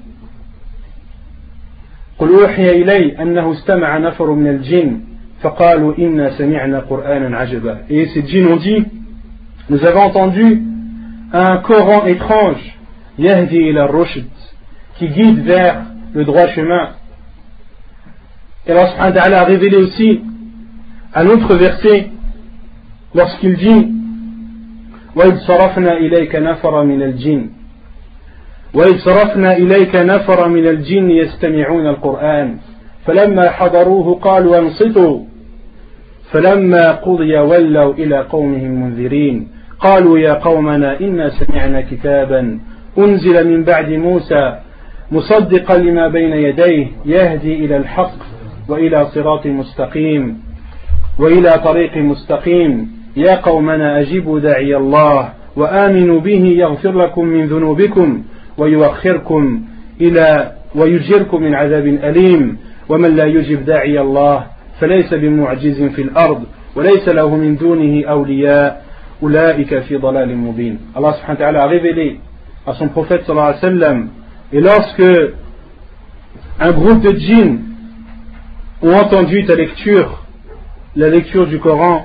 قل أوحي إلي أنه استمع نفر من الجن فقالوا إنا سمعنا قرآنا عجبا. Et ces djinns ont dit, nous avons entendu un Coran étrange, يهدي إلى الرشد, qui guide vers le droit chemin. Et Allah subhanahu wa ta'ala a révélé aussi un autre verset lorsqu'il dit وَإِذْ صَرَفْنَا إِلَيْكَ نَفَرًا مِنَ الْجِنِّ وَإِذْ صَرَفْنَا إِلَيْكَ نَفَرًا مِنَ الْجِنِّ يَسْتَمِعُونَ الْقُرْآنَ فَلَمَّا حَضَرُوهُ قَالُوا أَنصِتُوا فَلَمَّا قُضِيَ وَلَّوْا إِلَى قَوْمِهِمْ مُنذِرِينَ قَالُوا يَا قَوْمَنَا إِنَّا سَمِعْنَا كِتَابًا أُنزِلَ مِنْ بَعْدِ مُوسَى مصدقا لما بين يديه يهدي إلى الحق وإلى صراط مستقيم وإلى طريق مستقيم يا قومنا أجيبوا داعي الله وآمنوا به يغفر لكم من ذنوبكم ويؤخركم إلى ويجركم من عذاب أليم ومن لا يجب داعي الله فليس بمعجز في الأرض وليس له من دونه أولياء أولئك في ضلال مبين. Allah subhanahu wa ta'ala a révélé à son prophète sallallahu alayhi wa sallam. Et lorsque un groupe de djinns ont entendu ta lecture, la lecture du Coran,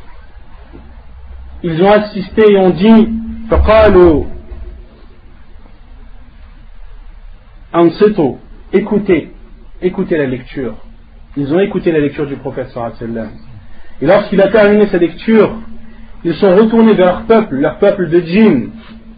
ils ont assisté et ont dit فَقَالُوا أَنصِتُوا, écoutez, écoutez la lecture. Ils ont écouté la lecture du prophète sallallahu alayhi wa sallam. Et lorsqu'il a terminé sa lecture, ils sont retournés vers leur peuple, leur peuple de djinns,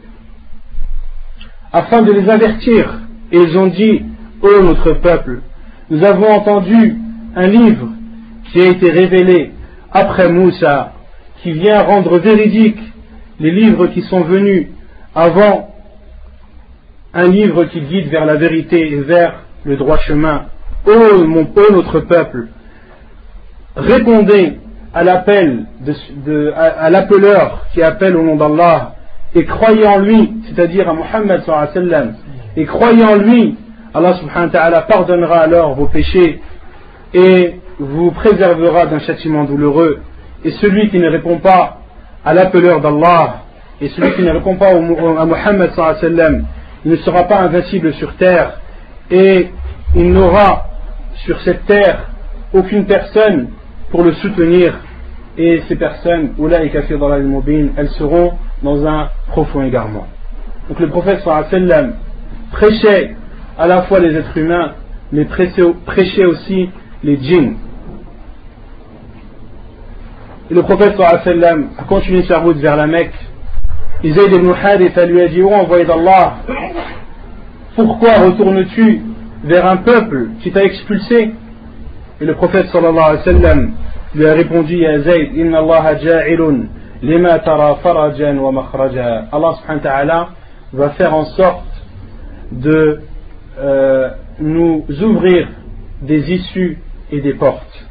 afin de les avertir, et ils ont dit ô notre peuple, nous avons entendu un livre qui a été révélé après Moussa, qui vient rendre véridique les livres qui sont venus avant, un livre qui guide vers la vérité et vers le droit chemin. Ô mon ô notre peuple, répondez à l'appel de, de, à, à l'appeleur qui appelle au nom d'Allah, et croyez en lui, c'est-à-dire à Muhammad sallallahu alayhi wa sallam, et croyez en lui, Allah subhanahu wa ta'ala pardonnera alors vos péchés et vous préservera d'un châtiment douloureux. Et celui qui ne répond pas à l'appeleur d'Allah, et celui qui ne répond pas au, à Muhammad sallallahu alayhi wa sallam, il ne sera pas invincible sur terre, et il n'aura sur cette terre aucune personne pour le soutenir. Et ces personnes, ulaïka fi dhalal mubin, elles seront dans un profond égarement. Donc le prophète sallallahu alayhi wa sallam prêchait à la fois les êtres humains, mais prêchait aussi les djinns. Et le prophète sallallahu alayhi wa sallam a continué sa route vers la Mecque Et Zayd ibn Haritha lui a dit: ô envoyé d'Allah, pourquoi retournes-tu vers un peuple qui t'a expulsé? Et le prophète sallallahu alayhi wa sallam lui a répondu: Ya Zayd, inna Allah ja'ilun lima tara farajan wa makhraja. Allah subhanahu wa ta'ala va faire en sorte de euh, nous ouvrir des issues et des portes.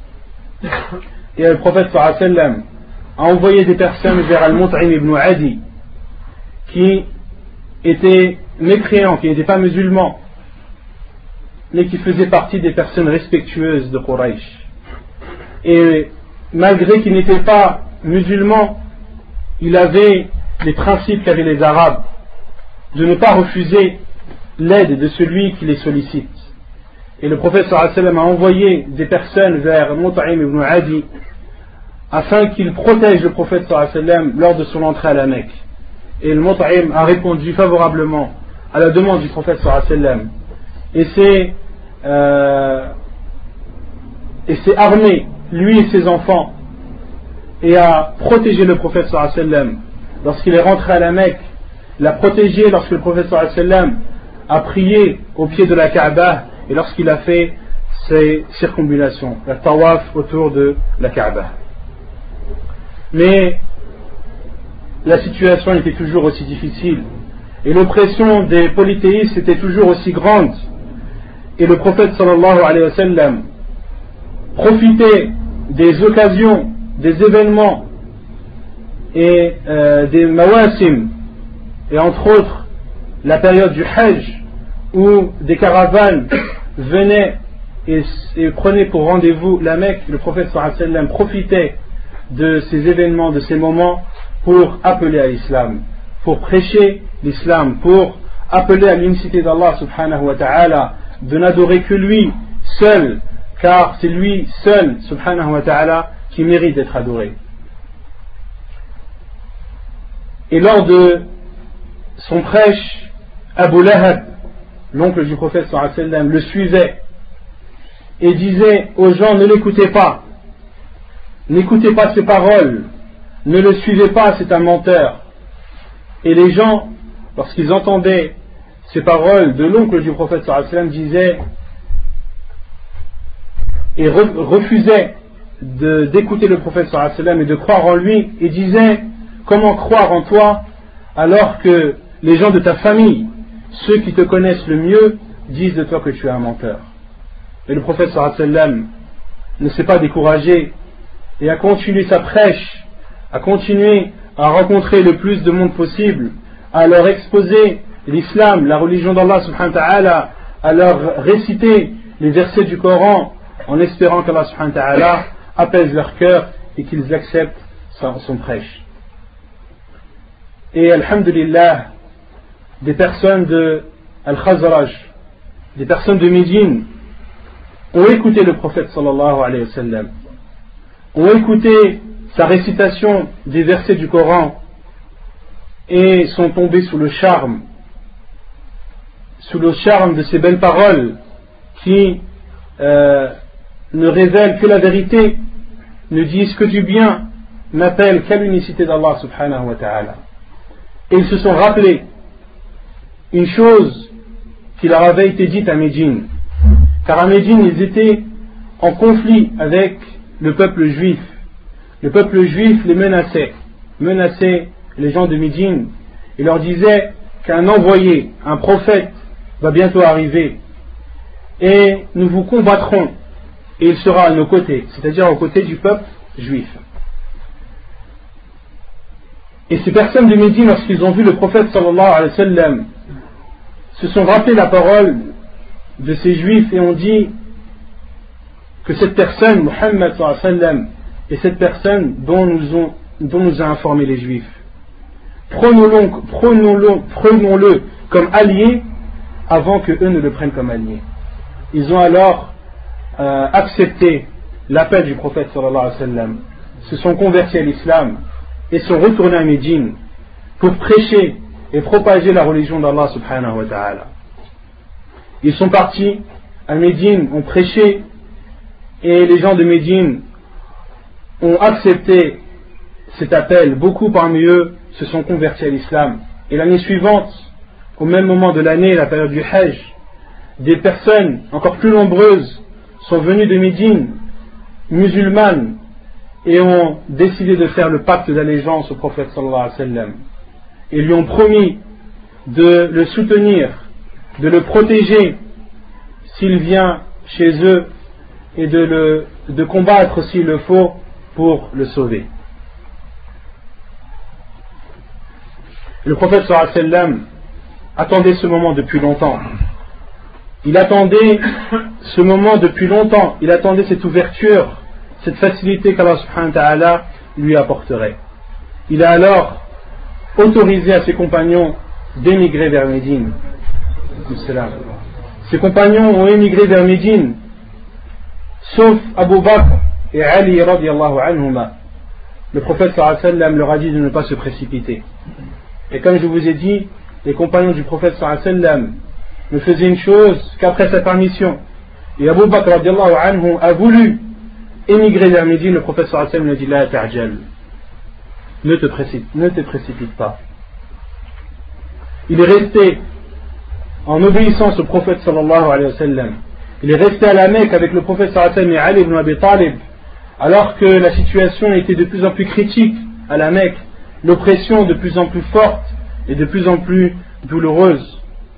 Et le prophète sallallahu alayhi wa sallam a envoyé des personnes vers Al-Mut'im ibn Adi, qui étaient mécréants, qui n'étaient pas musulmans, mais qui faisaient partie des personnes respectueuses de Quraysh. Et malgré qu'il n'était pas musulman, il avait les principes qu'avaient les Arabes, de ne pas refuser l'aide de celui qui les sollicite. Et le prophète sallallahu alayhi wa sallam a envoyé des personnes vers Mut'im ibn Adi afin qu'il protège le prophète sallallahu alayhi wa sallam lors de son entrée à la Mecque. Et le Mut'im a répondu favorablement à la demande du prophète sallallahu alayhi wa sallam, et s'est euh, et s'est armé, lui et ses enfants, et a protégé le prophète sallallahu alayhi wa sallam lorsqu'il est rentré à la Mecque, l'a protégé lorsque le prophète sallallahu alayhi wa sallam a prié au pied de la Kaaba et lorsqu'il a fait ses circumambulations, la tawaf autour de la Kaaba. Mais la situation était toujours aussi difficile et l'oppression des polythéistes était toujours aussi grande, et le prophète sallallahu alayhi wa sallam profitait des occasions, des événements et euh, des mawasim, et entre autres la période du Hajj où des caravanes venaient et, et prenaient pour rendez-vous la Mecque. Le prophète sallallahu alayhi wa sallam profitait de ces événements, de ces moments pour appeler à l'islam, pour prêcher l'islam, pour appeler à l'unicité d'Allah subhanahu wa ta'ala, de n'adorer que lui seul, car c'est lui seul subhanahu wa ta'ala qui mérite d'être adoré. Et lors de son prêche, Abu Lahab, l'oncle du prophète sallallahu alayhi wa sallam, le suivait et disait aux gens: ne l'écoutez pas, n'écoutez pas ses paroles, ne le suivez pas, c'est un menteur. Et les gens, lorsqu'ils entendaient ces paroles de l'oncle du prophète sallallahu alayhi wa sallam, disaient et refusaient de, d'écouter le prophète sallallahu alayhi wa sallam et de croire en lui, et disaient: comment croire en toi alors que les gens de ta famille, ceux qui te connaissent le mieux, disent de toi que tu es un menteur. Et le prophète sallallahu alayhi wa sallam ne s'est pas découragé et a continué sa prêche, a continué à rencontrer le plus de monde possible, à leur exposer l'islam, la religion d'Allah subhanahu wa ta'ala, à leur réciter les versets du Coran, en espérant qu'Allah subhanahu wa ta'ala apaise leur cœur et qu'ils acceptent son, son prêche. Et alhamdulillah, des personnes de Al-Khazraj, des personnes de Médine ont écouté le prophète sallallahu alayhi wa sallam, ont écouté sa récitation des versets du Coran et sont tombés sous le charme, sous le charme de ces belles paroles qui euh, ne révèlent que la vérité, ne disent que du bien, n'appellent qu'à l'unicité d'Allah subhanahu wa ta'ala. Et ils se sont rappelés une chose qui leur avait été dite à Médine, car à Médine ils étaient en conflit avec le peuple juif. Le peuple juif les menaçait, menaçait les gens de Médine, et leur disait qu'un envoyé, un prophète va bientôt arriver, et nous vous combattrons, et il sera à nos côtés, c'est-à-dire aux côtés du peuple juif. Et ces personnes de Médine, lorsqu'ils ont vu le prophète sallallahu alayhi wa sallam, se sont rappelés la parole de ces juifs et ont dit que cette personne, Muhammad sallallahu alayhi wa sallam, est cette personne dont nous, ont, dont nous a informé les juifs. Prenons-le, prenons-le, prenons-le comme allié avant que eux ne le prennent comme allié. Ils ont alors euh, accepté l'appel du prophète sallallahu alayhi wa sallam, se sont convertis à l'islam et sont retournés à Médine pour prêcher et propager la religion d'Allah subhanahu wa ta'ala. Ils sont partis à Médine, ont prêché, et les gens de Médine ont accepté cet appel. Beaucoup parmi eux se sont convertis à l'islam. Et l'année suivante, au même moment de l'année, la période du Hajj, des personnes encore plus nombreuses sont venues de Médine, musulmanes, et ont décidé de faire le pacte d'allégeance au prophète sallallahu alayhi wa sallam. Et lui ont promis de le soutenir, de le protéger s'il vient chez eux et de, le, de combattre s'il le faut pour le sauver. Le prophète sallallahu alayhi wa sallam attendait ce moment depuis longtemps. Il attendait ce moment depuis longtemps. Il attendait cette ouverture, cette facilité qu'Allah subhanahu wa ta'ala lui apporterait. Il a alors autorisé à ses compagnons d'émigrer vers Médine. Ses compagnons ont émigré vers Médine, sauf Abu Bakr et Ali radiyallahu anhuma. Le prophète sallallahu alayhi wa sallam leur a dit de ne pas se précipiter. Et comme je vous ai dit, les compagnons du prophète sallallahu alayhi wa sallam ne faisaient une chose qu'après sa permission. Et Abu Bakr radiyallahu anhu a voulu émigrer vers Médine. Le prophète sallallahu alayhi wa sallam lui a dit la ta'jal, ne te précipite, ne te précipite pas. Il est resté en obéissance au prophète sallallahu alayhi wa sallam. Il est resté à la Mecque avec le prophète sallallahu alayhi wa sallam et Ali ibn Abi Talib, alors que la situation était de plus en plus critique à la Mecque, l'oppression de plus en plus forte et de plus en plus douloureuse.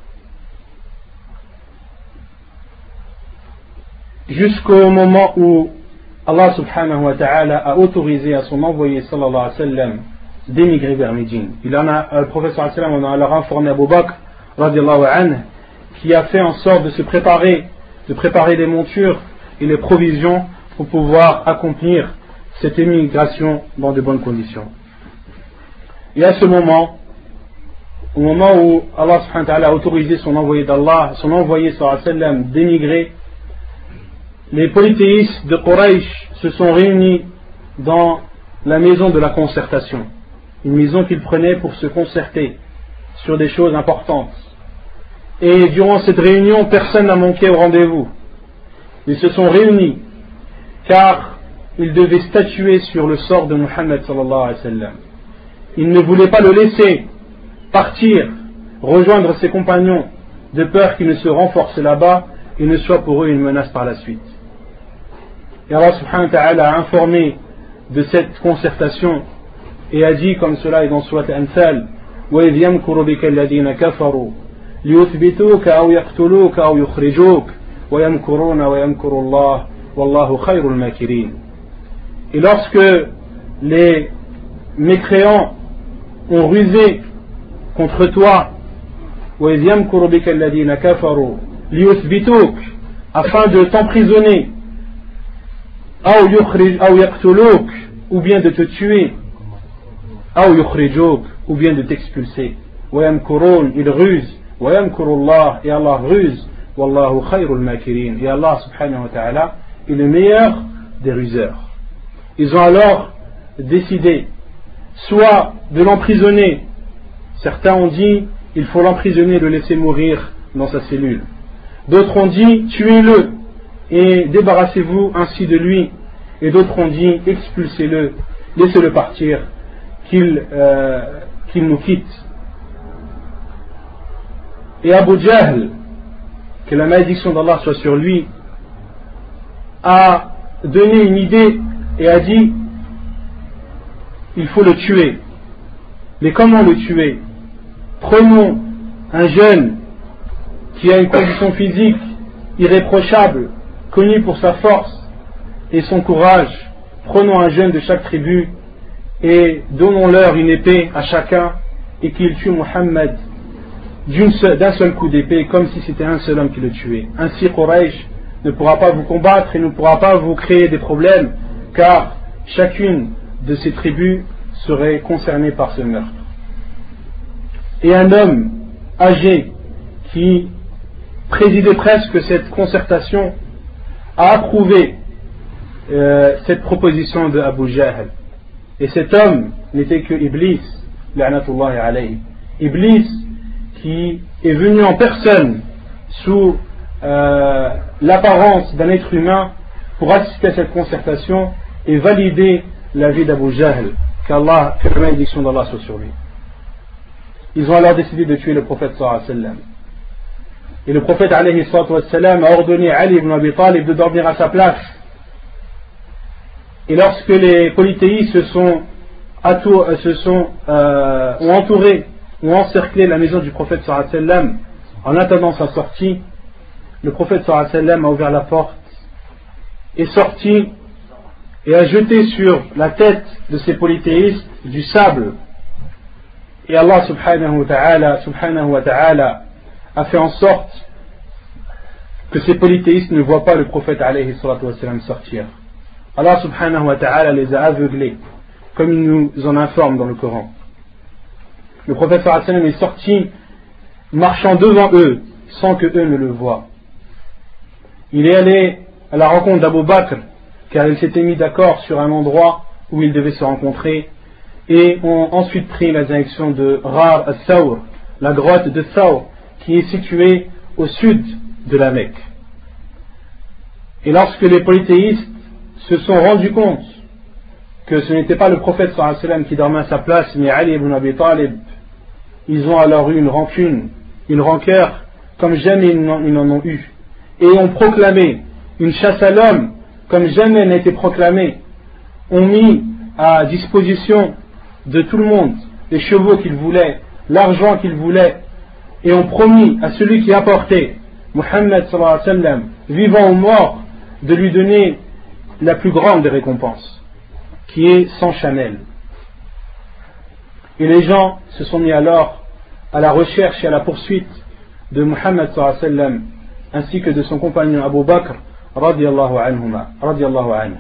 Jusqu'au moment où Allah subhanahu wa ta'ala a autorisé à son envoyé sallallahu alayhi wa sallam d'émigrer vers Médine. Il en a, le prophète sallallahu alayhi wa sallam en a alors informé Abu Bakr radiallahu anhu, qui a fait en sorte de se préparer, de préparer les montures et les provisions pour pouvoir accomplir cette émigration dans de bonnes conditions. Et à ce moment, au moment où Allah subhanahu wa ta'ala a autorisé son envoyé d'Allah, son envoyé sallallahu alayhi wa sallam d'émigrer, les polythéistes de Quraysh se sont réunis dans la maison de la concertation, une maison qu'ils prenaient pour se concerter sur des choses importantes. Et durant cette réunion, personne n'a manqué au rendez-vous. Ils se sont réunis car ils devaient statuer sur le sort de Muhammad sallallahu alayhi wa sallam. Ils ne voulaient pas le laisser partir, rejoindre ses compagnons, de peur qu'il ne se renforce là-bas et ne soit pour eux une menace par la suite. Et Allah subhanahu wa ta'ala a informé de cette concertation et a dit, comme cela est dans Surat Anfal, وَإِذْ يَمْكُرُ بِكَ الَّذِينَ كَفَرُوا لِيُثْبِتُوكَ أَوْ يَقْتُلُوكَ أَوْ يُخْرِجُوكَ وَيَمْكُرُونَ وَيَمْكُرُ اللَّهُ وَاللَّهُ خَيْرُ الْمَاكِرِينَ. Et lorsque les mécréants ont rusé contre toi, وَإِذْ يَمْكُرُ بِكَ الَّذِينَ كَفَرُوا لِيُثْبِتُوكَ, afin de t'emprisonner, أَوْ يُخْرِجْ أَوْ يَقْتُلُوكَ, ou bien de te tuer, أَوْ يُخْرِجُوكَ, ou bien de t'expulser. وَيَمْكُرُونَ, ils rusent, وَيَمْكُرُ اللَّهُ, et Allah ruse, وَاللَّهُ خَيْرُ الْمَاكِرِينَ, et Allah subhanahu wa ta'ala est le meilleur des ruseurs. Ils ont alors décidé soit de l'emprisonner. Certains ont dit il faut l'emprisonner et le laisser mourir dans sa cellule. D'autres ont dit tuez-le et débarrassez-vous ainsi de lui. Et d'autres ont dit expulsez-le, laissez-le partir, qu'il, euh, qu'il nous quitte. Et Abu Jahl, que la malédiction d'Allah soit sur lui, a donné une idée et a dit il faut le tuer. Mais comment le tuer? Prenons un jeune qui a une condition physique irréprochable, connu pour sa force et son courage. Prenons un jeune de chaque tribu et donnons-leur une épée à chacun et qu'il tue Muhammad d'un seul coup d'épée, comme si c'était un seul homme qui le tuait. Ainsi Quraysh ne pourra pas vous combattre et ne pourra pas vous créer des problèmes, car chacune de ces tribus serait concernée par ce meurtre. Et un homme âgé qui présidait presque cette concertation a approuvé euh, cette proposition de Abu Jahl. Et cet homme n'était que Iblis, la'natullahi alayhi. Iblis qui est venu en personne sous euh, l'apparence d'un être humain pour assister à cette concertation et valider l'avis d'Abu Jahl, qu'Allah, que la malédiction d'Allah soit sur lui. ils ont alors décidé de tuer le prophète sallallahu alayhi wa sallam. Et le prophète alayhi wa sallam a ordonné à Ali ibn Abi Talib de dormir à sa place. Et lorsque les polythéistes se sont, attour, se sont euh, ont entouré, ont encerclé la maison du prophète sallallahu alayhi wa sallam en attendant sa sortie, le prophète sallallahu alayhi wa sallam a ouvert la porte, est sorti et a jeté sur la tête de ces polythéistes du sable. Et Allah subhanahu wa ta'ala, subhanahu wa ta'ala a fait en sorte que ces polythéistes ne voient pas le prophète alayhi salatu wa sallam sortir. Allah subhanahu wa ta'ala les a aveuglés, comme il nous en informe dans le Coran. Le prophète sallallahu alayhi wa sallam est sorti marchant devant eux sans que eux ne le voient. Il est allé à la rencontre d'Abu Bakr car ils s'étaient mis d'accord sur un endroit où ils devaient se rencontrer et ont ensuite pris la direction de Rar al-Thawr, la grotte de Thawr qui est située au sud de la Mecque. Et lorsque les polythéistes se sont rendus compte que ce n'était pas le prophète sallallahu alayhi wa sallam qui dormait à sa place mais Ali ibn Abi Talib, ils ont alors eu une rancune, une rancœur comme jamais ils n'en ont eu et ont proclamé une chasse à l'homme comme jamais n'a été proclamée, ont mis à disposition de tout le monde les chevaux qu'ils voulaient, l'argent qu'ils voulaient, et ont promis à celui qui apportait Muhammad sallallahu alayhi wa sallam, vivant ou mort, de lui donner la plus grande des récompenses, qui est cent chamelles. Et les gens se sont mis alors à la recherche et à la poursuite de Muhammad sallallahu alayhi wa sallam, ainsi que de son compagnon Abu Bakr radiyallahu anhuma, radiyallahu anhu.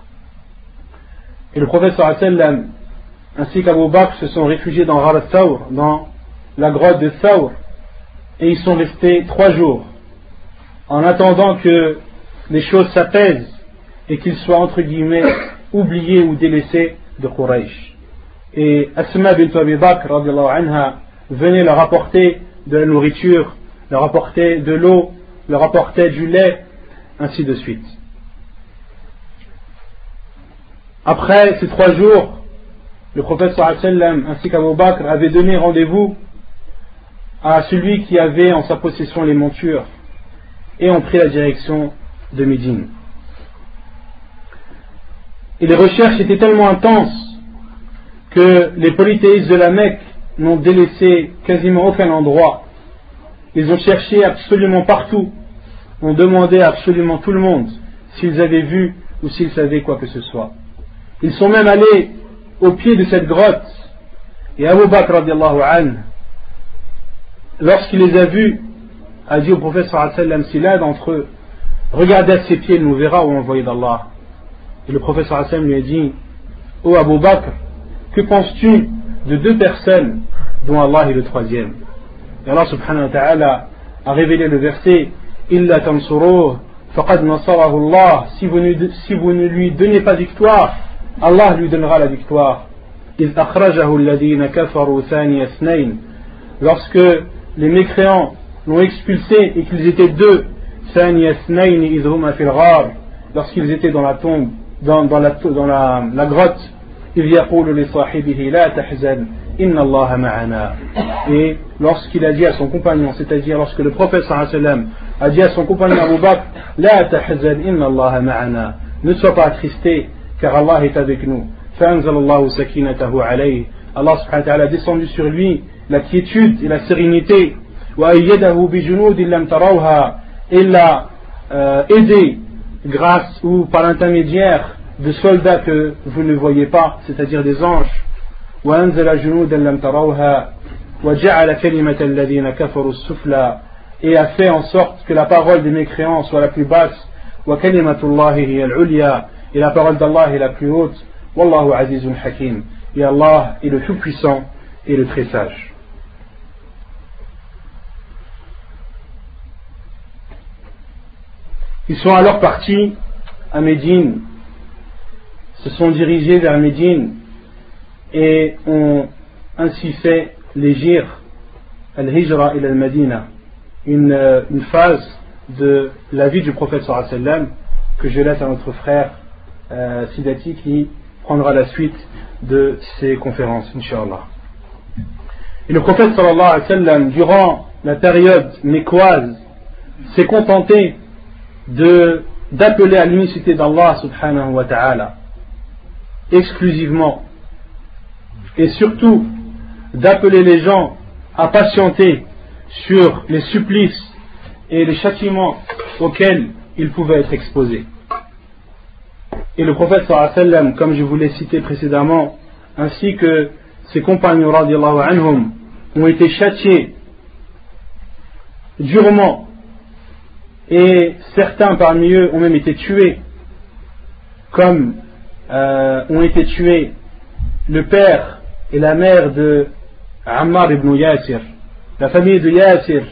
Et le prophète sallallahu alayhi wa sallam ainsi qu'Abu Bakr se sont réfugiés dans Rar al-Thawr, dans la grotte de Thawr, et ils sont restés trois jours en attendant que les choses s'apaisent et qu'ils soient entre guillemets oubliés ou délaissés de Quraysh. Et Asma bint Abi Bakr radiyallahu anha venait leur apporter de la nourriture, leur apporter de l'eau, leur apporter du lait, ainsi de suite. Après ces trois jours, le prophète sallallahu alayhi wa sallam ainsi qu'Abu Bakr avaient donné rendez-vous à celui qui avait en sa possession les montures et ont pris la direction de Médine. Et les recherches étaient tellement intenses que les polythéistes de la Mecque n'ont délaissé quasiment aucun endroit. Ils ont cherché absolument partout, ont demandé à absolument tout le monde s'ils avaient vu ou s'ils savaient quoi que ce soit. Ils sont même allés au pied de cette grotte, et Abu Bakr radiallahu anhu, lorsqu'il les a vus, a dit au prophète sallallahu alayhi wa sallam, si l'un d'entre eux regardez à ses pieds, il nous verra ou envoyé d'Allah. Et le prophète sallallahu alayhi wa sallam lui a dit, ô Abu Bakr, que penses-tu de deux personnes dont Allah est le troisième? Et Allah subhanahu wa ta'ala a révélé le verset, illa tansuruh faqad nasarahu Allah, si vous ne, si vous ne lui donnez pas victoire, Allah lui donnera la victoire. إذ أخرجه الذين كفروا ثاني اثنين, lorsque les mécréants l'ont expulsé et qu'ils étaient deux, ثاني اثنين إذ هما في الغار, lorsqu'ils étaient dans la tombe, dans, dans, la, dans la, la grotte, إذ يقول لصاحبه لا تحزن إن الله معنا, et lorsqu'il a dit à son compagnon, c'est-à-dire lorsque le prophète sallallahu alayhi wa sallam a dit à son compagnon Abu Bakr, لا تحزن إن الله معنا, ne sois pas attristé car Allah est avec nous. فأنزل الله سكينته عليه, Allah subhanahu wa ta'ala a descendu sur lui la quiétude et la sérénité. وأيده بجنود لم تروها, et l'a euh, aidé grâce ou par l'intermédiaire de soldats que vous ne voyez pas, c'est-à-dire des anges. وأنزل جنودا لم تروها وجعل كلمة الذين كفروا السفلى, et a fait en sorte que la parole des mécréants soit la plus basse. وكلمة الله هي العليا, et la parole d'Allah est la plus haute. Wallahu azizun hakim, et Allah est le tout puissant et le très sage. Ils sont alors partis à Médine, se sont dirigés vers Médine et ont ainsi fait l'hijr, al-hijra ila al-Madina, une, une phase de la vie du prophète sallallahu alayhi wa sallam que je laisse à notre frère euh, Sidati qui prendra la suite de ces conférences, Inch'Allah. Et le prophète sallallahu alayhi wa sallam, durant la période mécoise, s'est contenté de, d'appeler à l'unicité d'Allah subhanahu wa ta'ala, exclusivement, et surtout d'appeler les gens à patienter sur les supplices et les châtiments auxquels ils pouvaient être exposés. Et le prophète sallallahu alayhi wa sallam, comme je vous l'ai cité précédemment, ainsi que ses compagnons radiallahu anhum, ont été châtiés durement, et certains parmi eux ont même été tués, comme euh, ont été tués le père et la mère de Ammar ibn Yasir. La famille de Yasir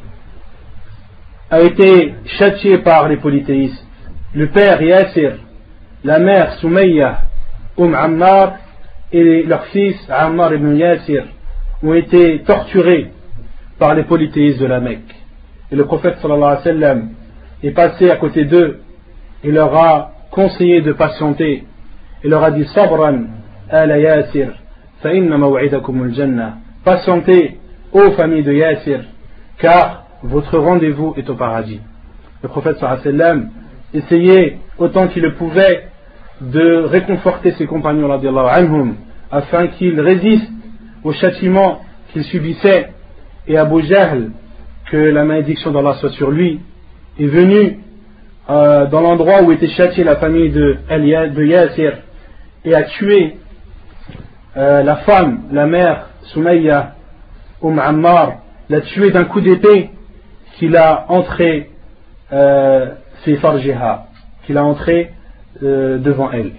a été châtiée par les polythéistes. Le père Yasir, la mère Soumayya, Umm Ammar, et leur fils Ammar ibn Yasir ont été torturés par les polythéistes de la Mecque. Et le prophète sallallahu alayhi wa sallam est passé à côté d'eux et leur a conseillé de patienter. Il leur a dit Sabran ala Yasir fa inna maw'idakum al-jannah. Patientez, ô famille de Yasir, car votre rendez-vous est au paradis. Le prophète sallallahu alayhi wa sallam essayait autant qu'il le pouvait de réconforter ses compagnons radiallahu anhum afin qu'ils résistent au châtiment qu'ils subissaient. Et Abu Jahl, que la malédiction d'Allah soit sur lui, est venu euh, dans l'endroit où était châtiée la famille de, de Yasir et a tué euh, la femme, la mère Soumayya, Umm Ammar, l'a tué d'un coup d'épée qu'il a entré euh, fi farjiha, qu'il a entré euh, devant elle.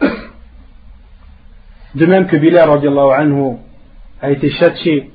De même que Bilal radiallahu anhu a été châtié,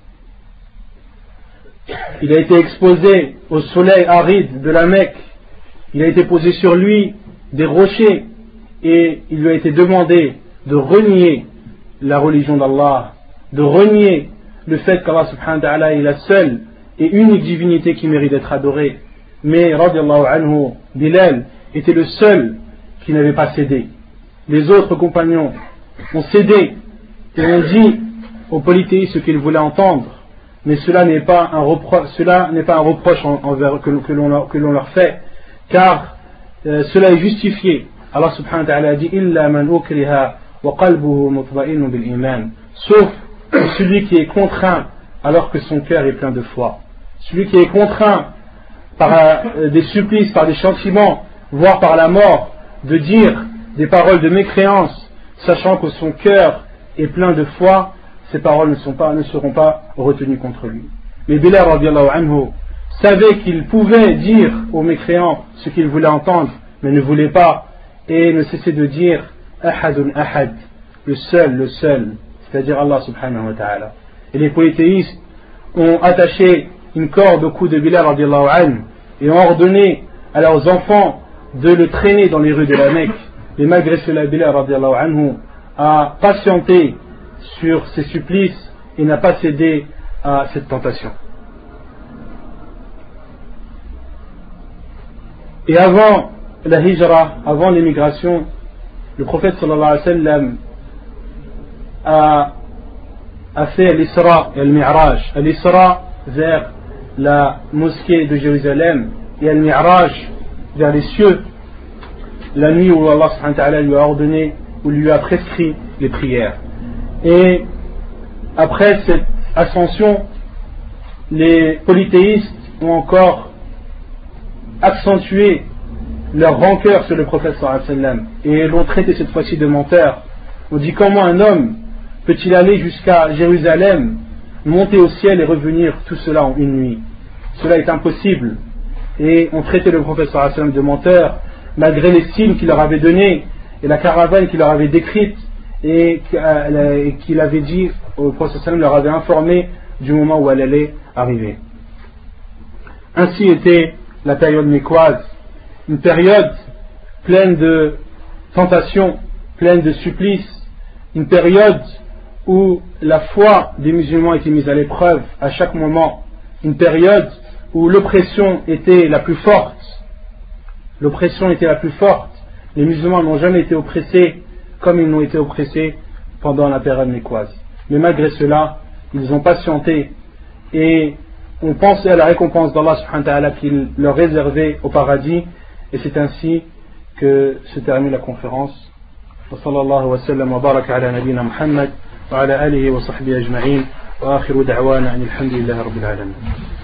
il a été exposé au soleil aride de la Mecque, il a été posé sur lui des rochers et il lui a été demandé de renier la religion d'Allah, de renier le fait qu'Allah subhanahu wa ta'ala est la seule et unique divinité qui mérite d'être adorée. Mais radiallahu anhu, Bilal était le seul qui n'avait pas cédé. Les autres compagnons ont cédé et ont dit aux polythéistes ce qu'ils voulaient entendre, mais cela n'est pas un reproche, cela n'est pas un reproche envers, que, que, l'on leur, que l'on leur fait, car euh, cela est justifié. Allah subhanahu wa ta'ala a dit illa man ukriha wa qalbuhu mutma'innun bil iman, sauf celui qui est contraint alors que son cœur est plein de foi, celui qui est contraint par euh, des supplices, par des châtiments, voire par la mort, de dire des paroles de mécréance, sachant que son cœur est plein de foi, ces paroles ne, sont pas, ne seront pas retenues contre lui. Mais Bilal radiallahu anhu savait qu'il pouvait dire aux mécréants ce qu'il voulait entendre, mais ne voulait pas, et ne cessait de dire ahadun ahad, le seul, le seul, c'est-à-dire Allah subhanahu wa ta'ala. Et les polythéistes ont attaché une corde au cou de Bilal radiallahu anhu et ont ordonné à leurs enfants de le traîner dans les rues de la Mecque. Et malgré cela, Bilal radiallahu anhu a patienté sur ses supplices et n'a pas cédé à cette tentation. Et avant la hijra, avant l'émigration, le prophète sallallahu alayhi wa sallam a, a fait l'Isra et le Mi'raj. L'Isra vers la mosquée de Jérusalem et le Mi'raj vers les cieux, la nuit où Allah subhanahu wa ta'ala lui a ordonné ou lui a prescrit les prières. Et après cette ascension, les polythéistes ont encore accentué leur rancœur sur le prophète sallallahu alayhi wa sallam et l'ont traité cette fois-ci de menteur. On dit comment un homme peut-il aller jusqu'à Jérusalem, monter au ciel et revenir tout cela en une nuit? Cela est impossible. Et on traitait le prophète sallallahu alayhi wa sallam de menteur malgré les signes qu'il leur avait donnés et la caravane qu'il leur avait décrite et qu'il avait dit au prophète sallallahu alayhi wa sallam, leur avait informé du moment où elle allait arriver. Ainsi était la période mécoise, une période pleine de tentations, pleine de supplices, une période où la foi des musulmans était mise à l'épreuve à chaque moment, une période où l'oppression était la plus forte. L'oppression était la plus forte. Les musulmans n'ont jamais été oppressés comme ils n'ont été oppressés pendant la période mécoise. Mais malgré cela, ils ont patienté et ont pensé à la récompense d'Allah subhanahu wa ta'ala qu'il leur réservait au paradis. Et c'est ainsi que se termine la conférence. Wa sallallahu wa sallam wa baraka ala nabina Muhammad wa ala alihi wa sahbihi ajma'in wa akhiru da'wana anil hamdulillahi rabbil alamin.